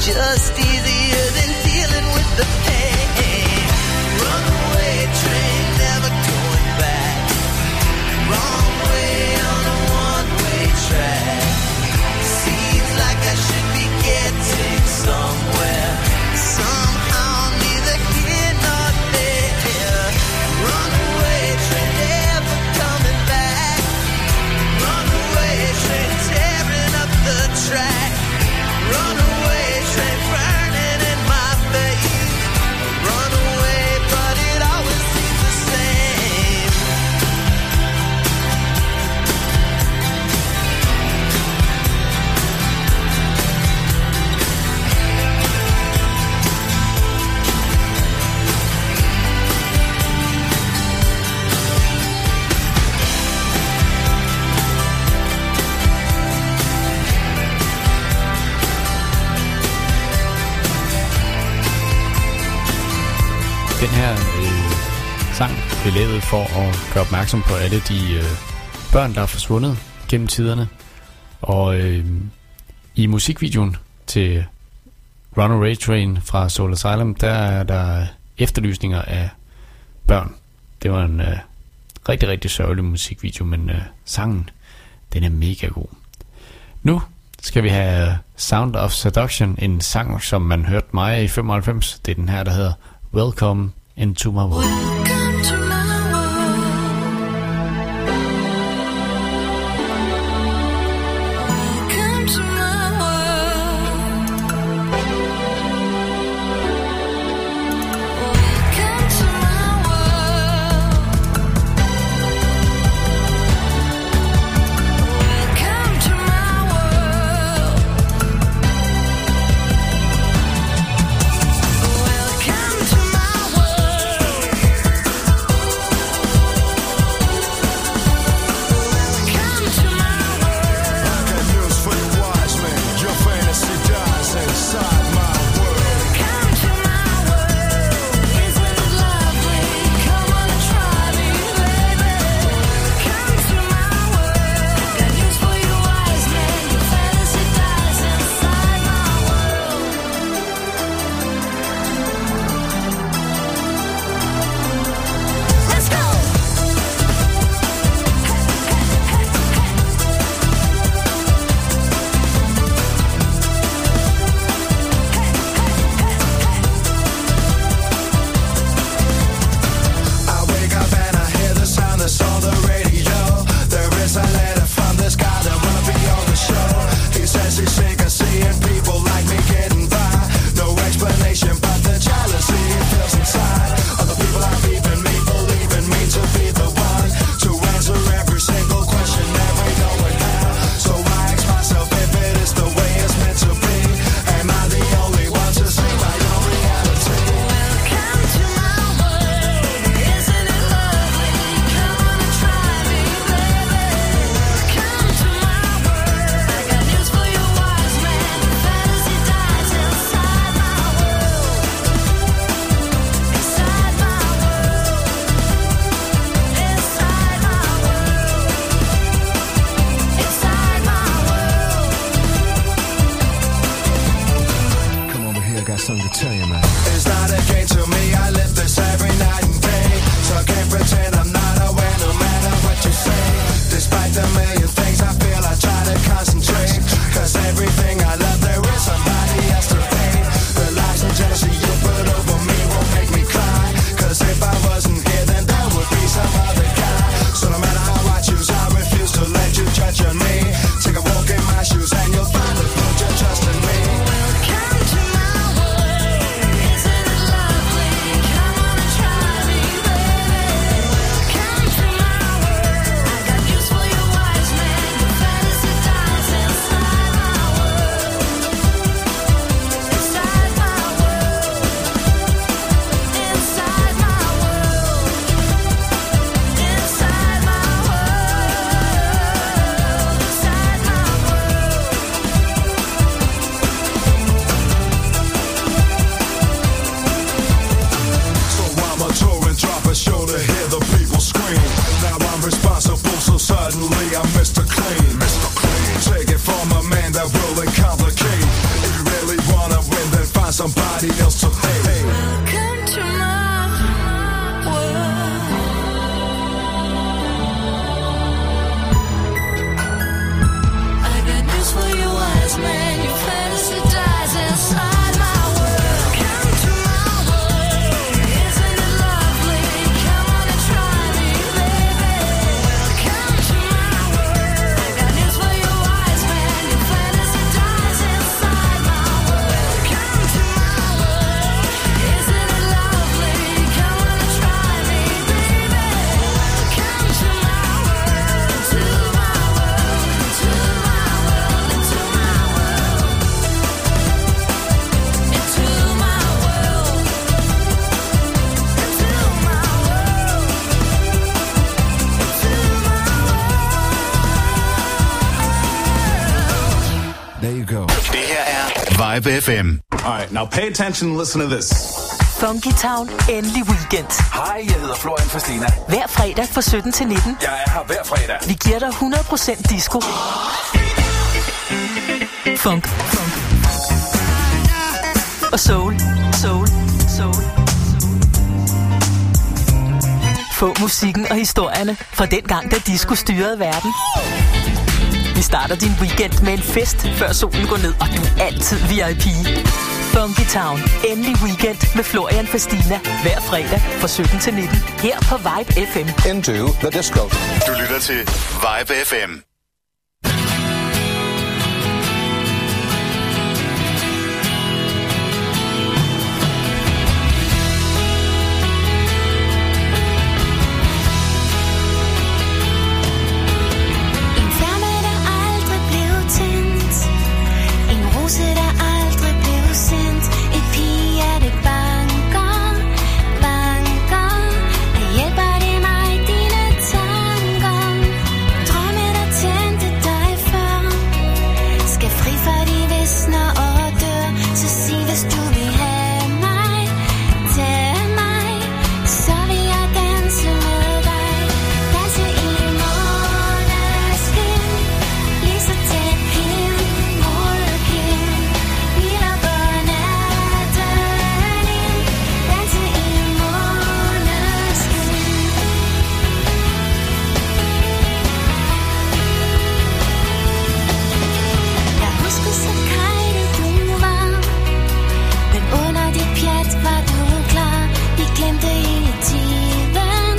just easier than dealing with the pain. Runaway train, never going back. Wrong way on a one-way track. Seems like I should be getting somewhere. Somehow neither here nor there. Runaway train, never coming back. Runaway train, tearing up the track. Runaway train, burning in my face. Runaway, but it always seems the same. Den her sang blev lavet for at gøre opmærksom på alle de børn, der er forsvundet gennem tiderne. Og i musikvideoen til Runaway Train fra Soul Asylum, der er der efterlysninger af børn. Det var en rigtig, rigtig sørgelig musikvideo, men sangen, den er mega god. Nu skal vi have Sound of Seduction, en sang, som man hørte mig i 95. Det er den her, der hedder Welcome into my world. Welcome to my world. Welcome to my world. Welcome to my world. Welcome to my world. Welcome to my Vibe FM. All right, now pay attention and listen to this. Funky Town, endelig weekend. Hej, jeg hedder Florian Fastina. Hver fredag fra 17 til 19. Jeg er her hver fredag. Vi giver dig 100% disco. Funk. Og soul. Få musikken og historierne fra den gang, da disco styrede verden. Vi starter din weekend med en fest, før solen går ned, og du er altid VIP. Funky Town, endelig weekend med Florian Fastina. Hver fredag fra 17 til 19. Her på Vibe FM. Into the disco. Du lytter til Vibe FM. En flamme, der aldrig blev tændt. En rose, der aldrig blev sendt. Et pigehjerte banker. Der hjælper det mig, dine tanker. Drømme, der tændte dig før. Skal fri for de visner og dør. Så sig, hvis du vil have mig. Tag mig, så vil jeg danse med dig. Danse i måneskin. Lige så tæt hen mod hen. Vi lukker natten ind. Danse i måneskin. Jeg husker så kajtet du var. Men under dit pjat var du klar. Vi glemte hele tiden.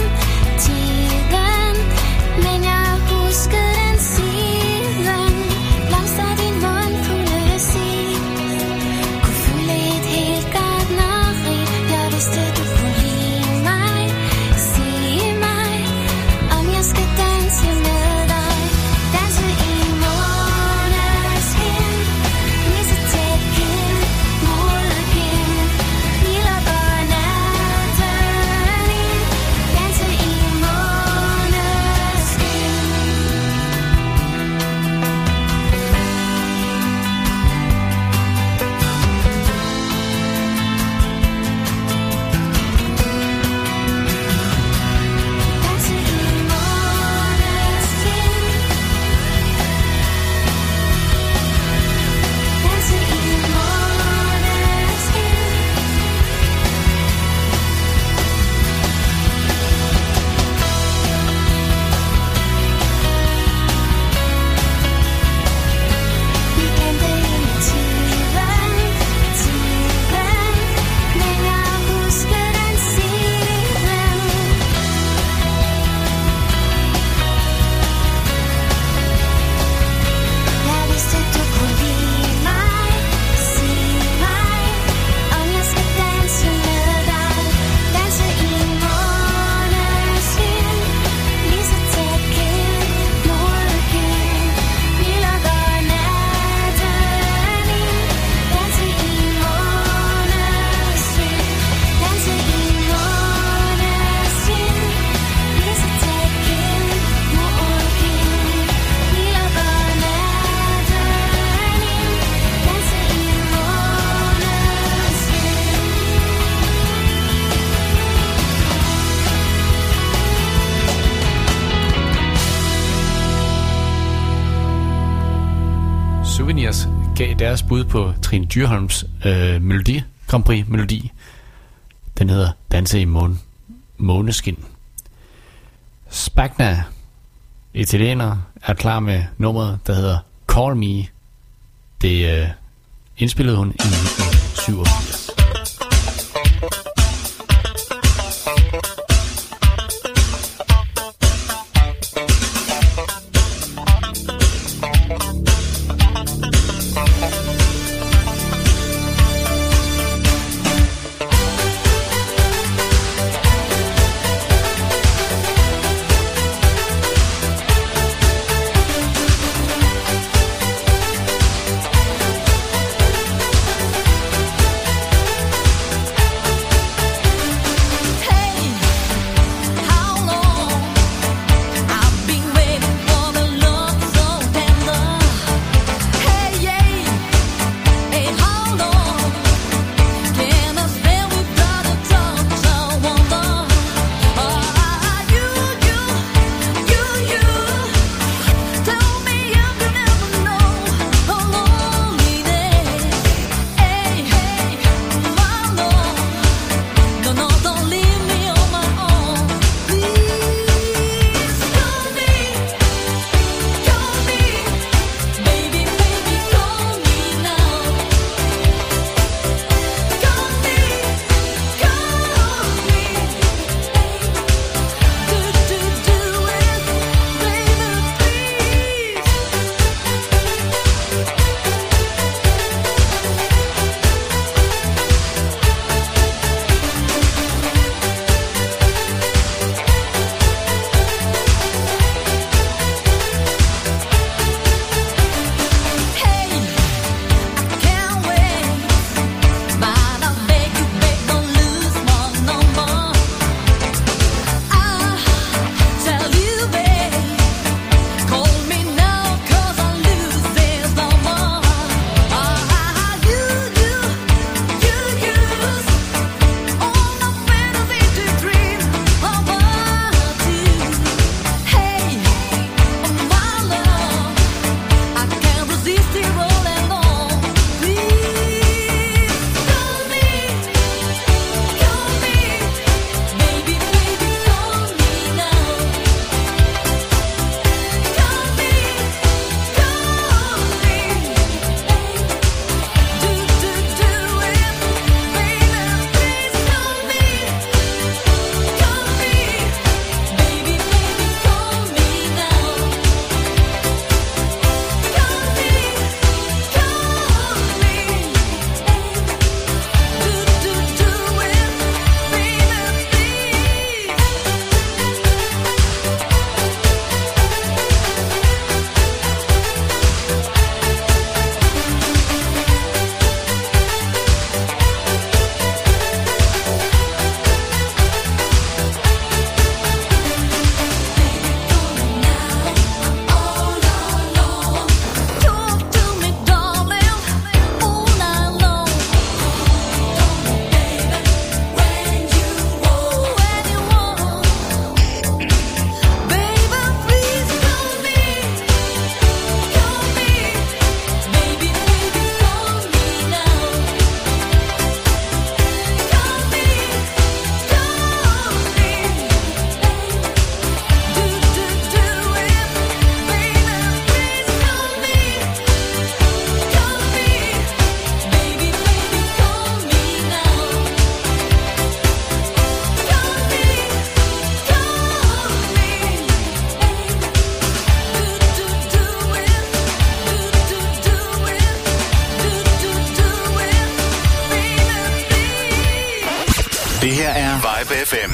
Men jeg husker den siden. Blomster din mund kunne se. Kunne fylde et helt gartneri. Jeg vidste du kunne lide mig. Sig mig, om jeg skal danse med dig. Danse i måneskin. Lige så tæt hen mod hen. Vi lukker natten ind. Danse i måneskin. Danse i måneskin. Danse i måneskin. Vi glemte hele tiden. Men jeg husker den siden. Jeg vidste du kunne lide mig. Sig mig, om jeg skal danse med dig. Danse i måneskin. Lige så tæt hen mod hen. Vi lukker natten ind. Danse i måneskin. Danse i måneskin. Lige så tæt hen mod hen. Vi lukker natten ind. Danse i Souvenirs gav deres bud på Trine Dyrholms Melodi Grand Prix melodi. Den hedder Danse i måneskin. Spagna, italiener, er klar med nummeret, der hedder Call Me. Det indspillede hun i 1987. Det her er Vibe FM.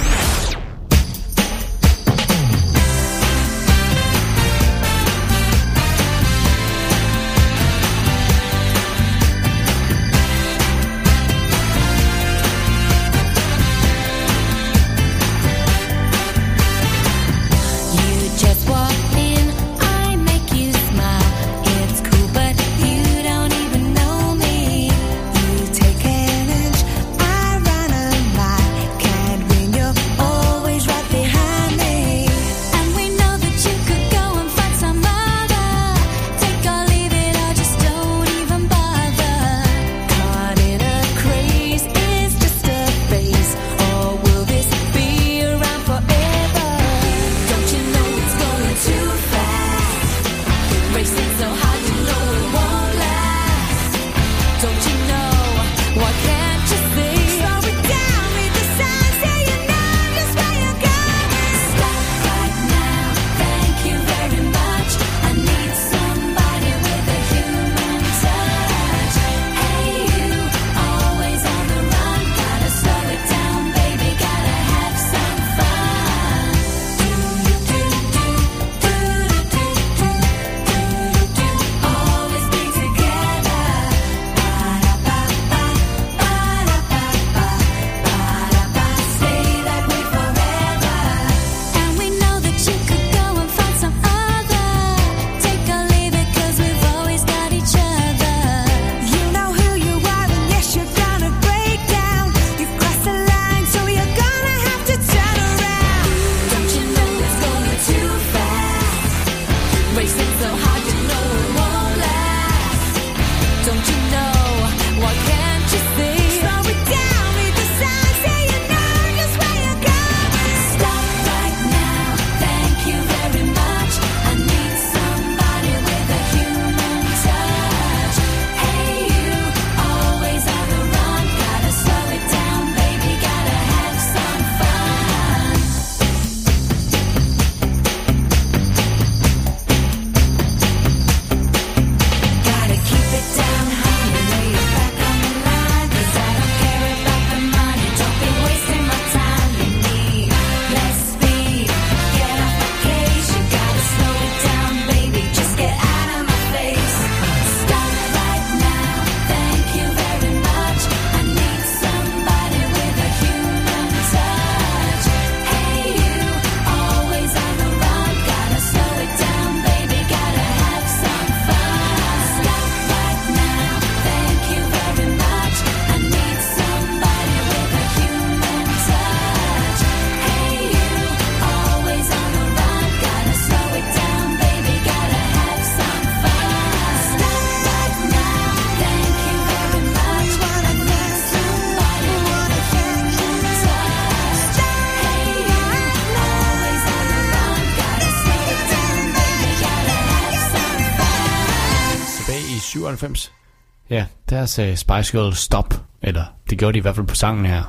Ja, der sagde Spice Girls stop, eller det gjorde de i hvert fald på sangen her.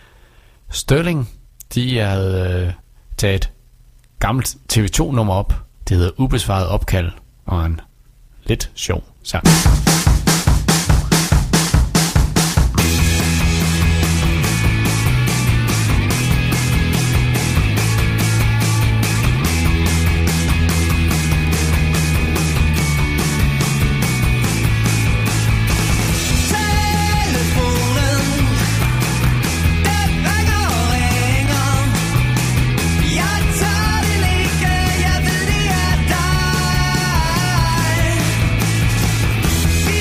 Sterling, de havde taget et gammelt TV2-nummer op. Det hedder Ubesvaret opkald, og en lidt sjov sang. Jeg ved, det er dig.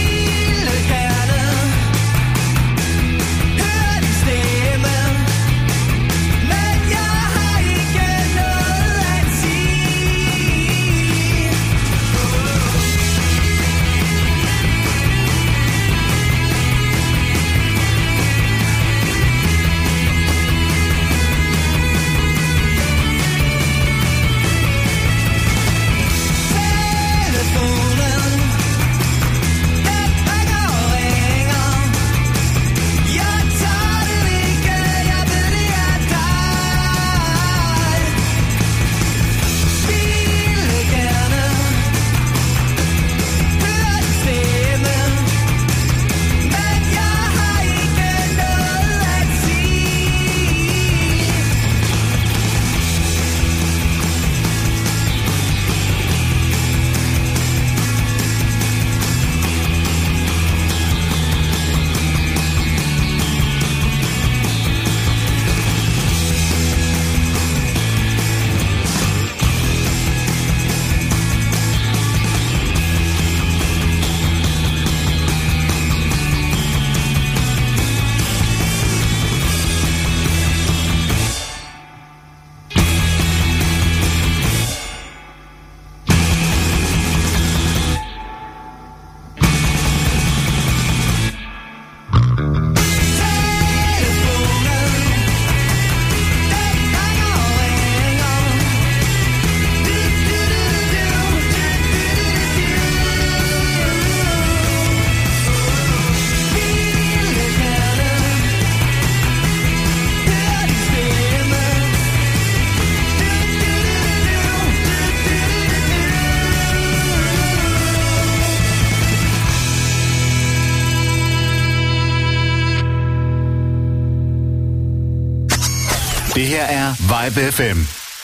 Det her er Vibe FM.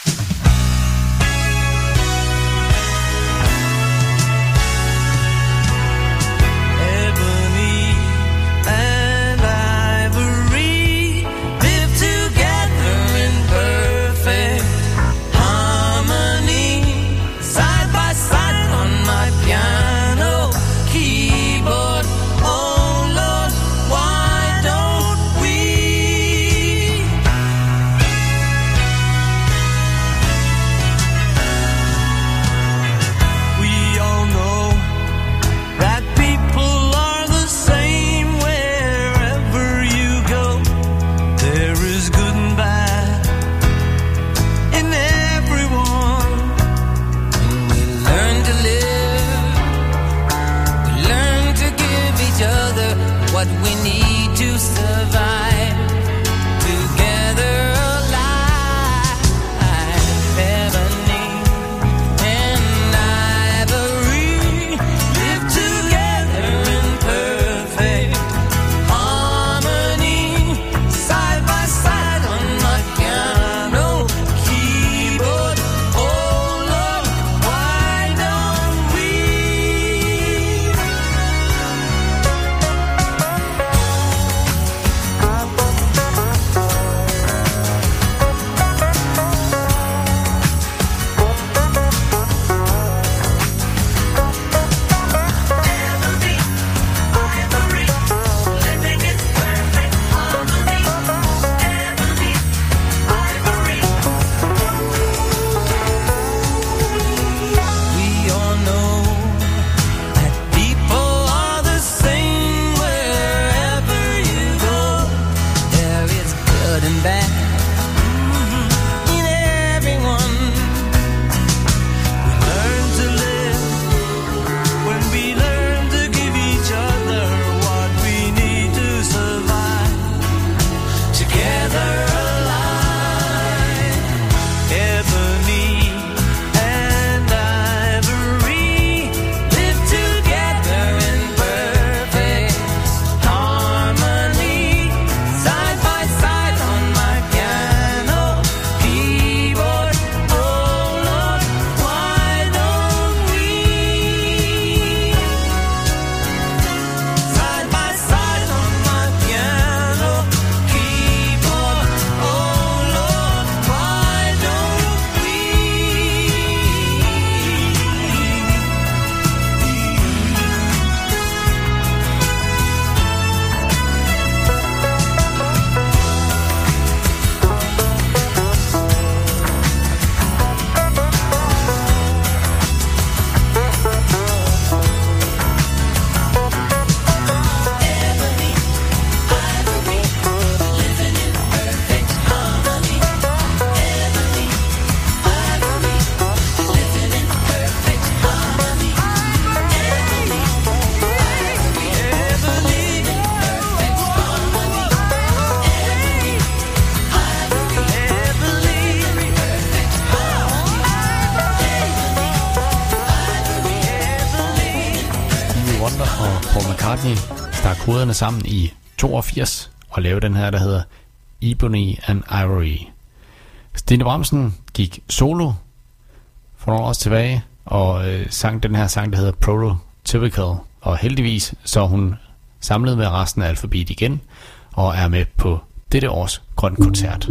stak hovederne sammen i 82 og lavede den her, der hedder Ebony and Ivory. Stine Bramsen gik solo for nogle år tilbage og sang den her sang, der hedder Prototypical. Og heldigvis så er hun samlet med resten af Alphabet igen og er med på dette års Grøn Koncert.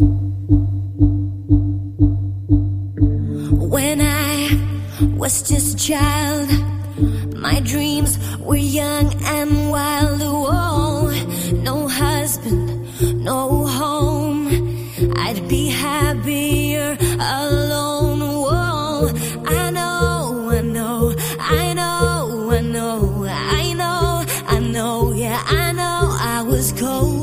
When I was just a child, my dreams were young and wild. Oh, no husband, no home. I'd be happier alone. Oh, I know, I know, I know, I know, I know, I know, yeah, I know I was cold.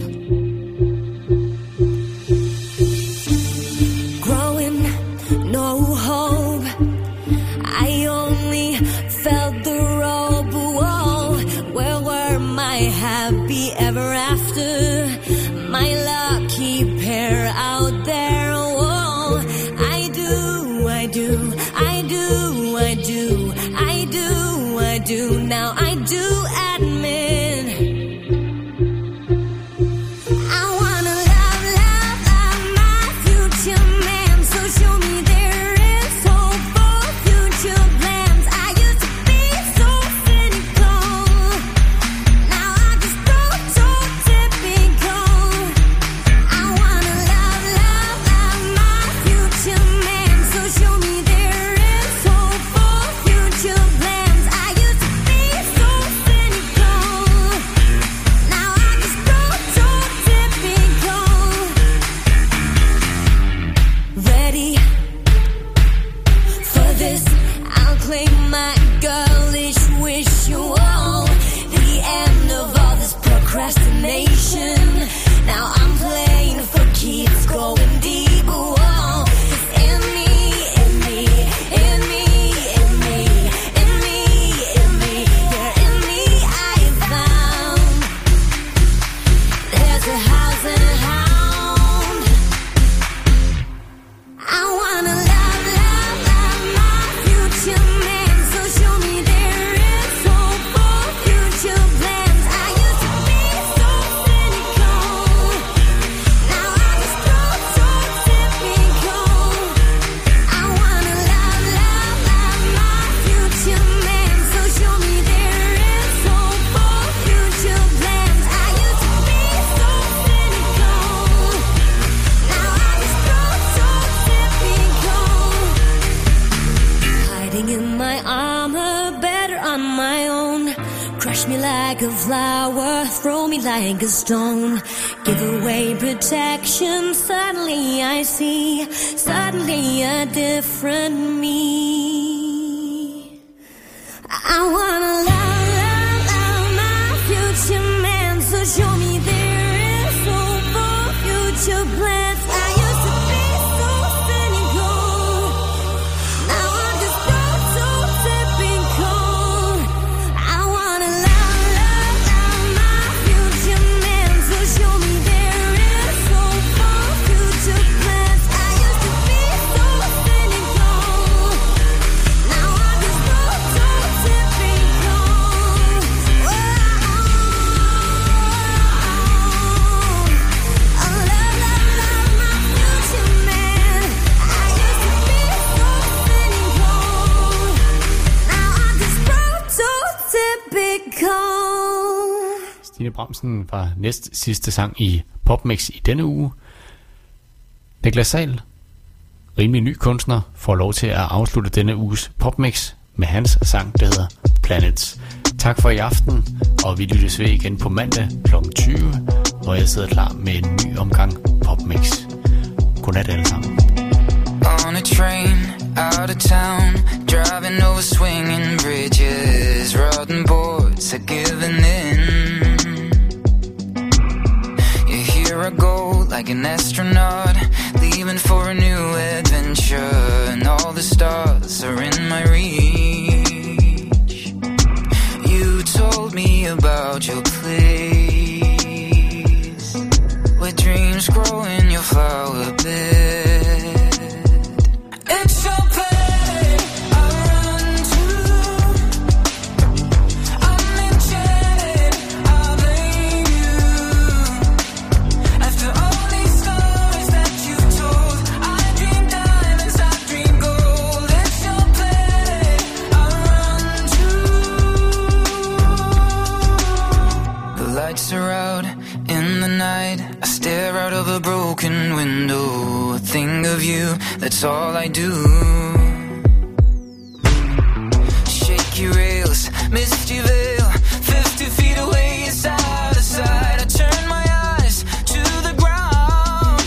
Ever after, my lucky pair out there. Oh, I do, I do, I do, I do, I do, I do. Now I do admit I wanna love, love, love, a house and a hound. I wanna love, love, love my future man. So show me there is hope for future plans. I used to be so cynical. Now I just grow so typical. I wanna love, love, love my future man. So show me there is hope for future plans. I used to be so cynical. Now I just grow so typical. Hiding in my armor, better on my own. Crush me like a flower, throw me like a stone. Give away protection, suddenly I see, suddenly a different me. I wanna love, love, love my future man. So show me there is hope for future plans. I used to be so cynical. Now I just grow so typical. I wanna love, love, love my future man. So show me there is hope for future plans. I used to be so cynical. Now I just grow so typical. Oh, love, love, love my future man. I used to be so cynical. Now I just grow so typical. Stine Bramsen var næst sidste sang i PopMix i denne uge. Niklas Sahl, rimelig ny kunstner, får lov til at afslutte denne uges PopMix med hans sang, der hedder Planets. Tak for i aften, og vi lyttes ved igen på mandag kl. 20, hvor jeg sidder klar med en ny omgang PopMix. Godnat alle sammen. On a train, out of town, driving over swinging bridges, rotten boards are giving in. Here I go like an astronaut, leaving for a new adventure, and all the stars are in my reach. You told me about your place, where dreams grow in your flower bed. It's your planet I run to. I'm enchanted, I blame you. After all these stories that you've told, I dream diamonds, I dream gold. It's your planet I run to. The lights are out in the night, I stare out of a broken window. Think of you, that's all I do. Shaky rails, misty veil, 50 feet away, side to side. I turn my eyes to the ground.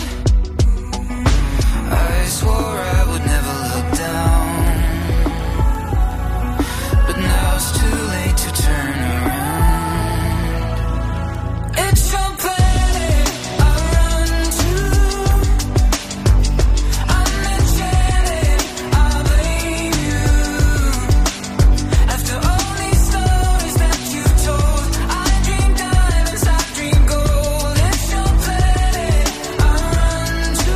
I swore I would never look down, but now it's too late to turn around. It's your planet I run to. I'm enchanted, I blame you. After all these stories that you've told, I dream diamonds, I dream gold. It's your planet I run to.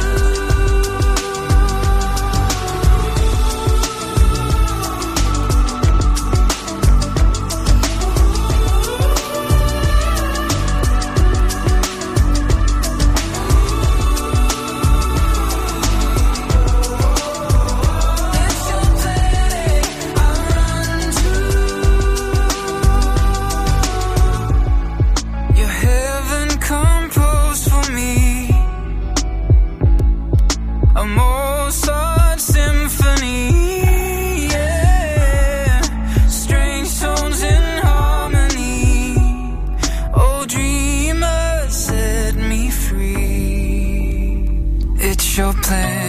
It's your planet I run to. Your heaven composed for me, a Mozart symphony. Yeah, strange tones in harmony. Oh, dreamer, set me free. It's your plan.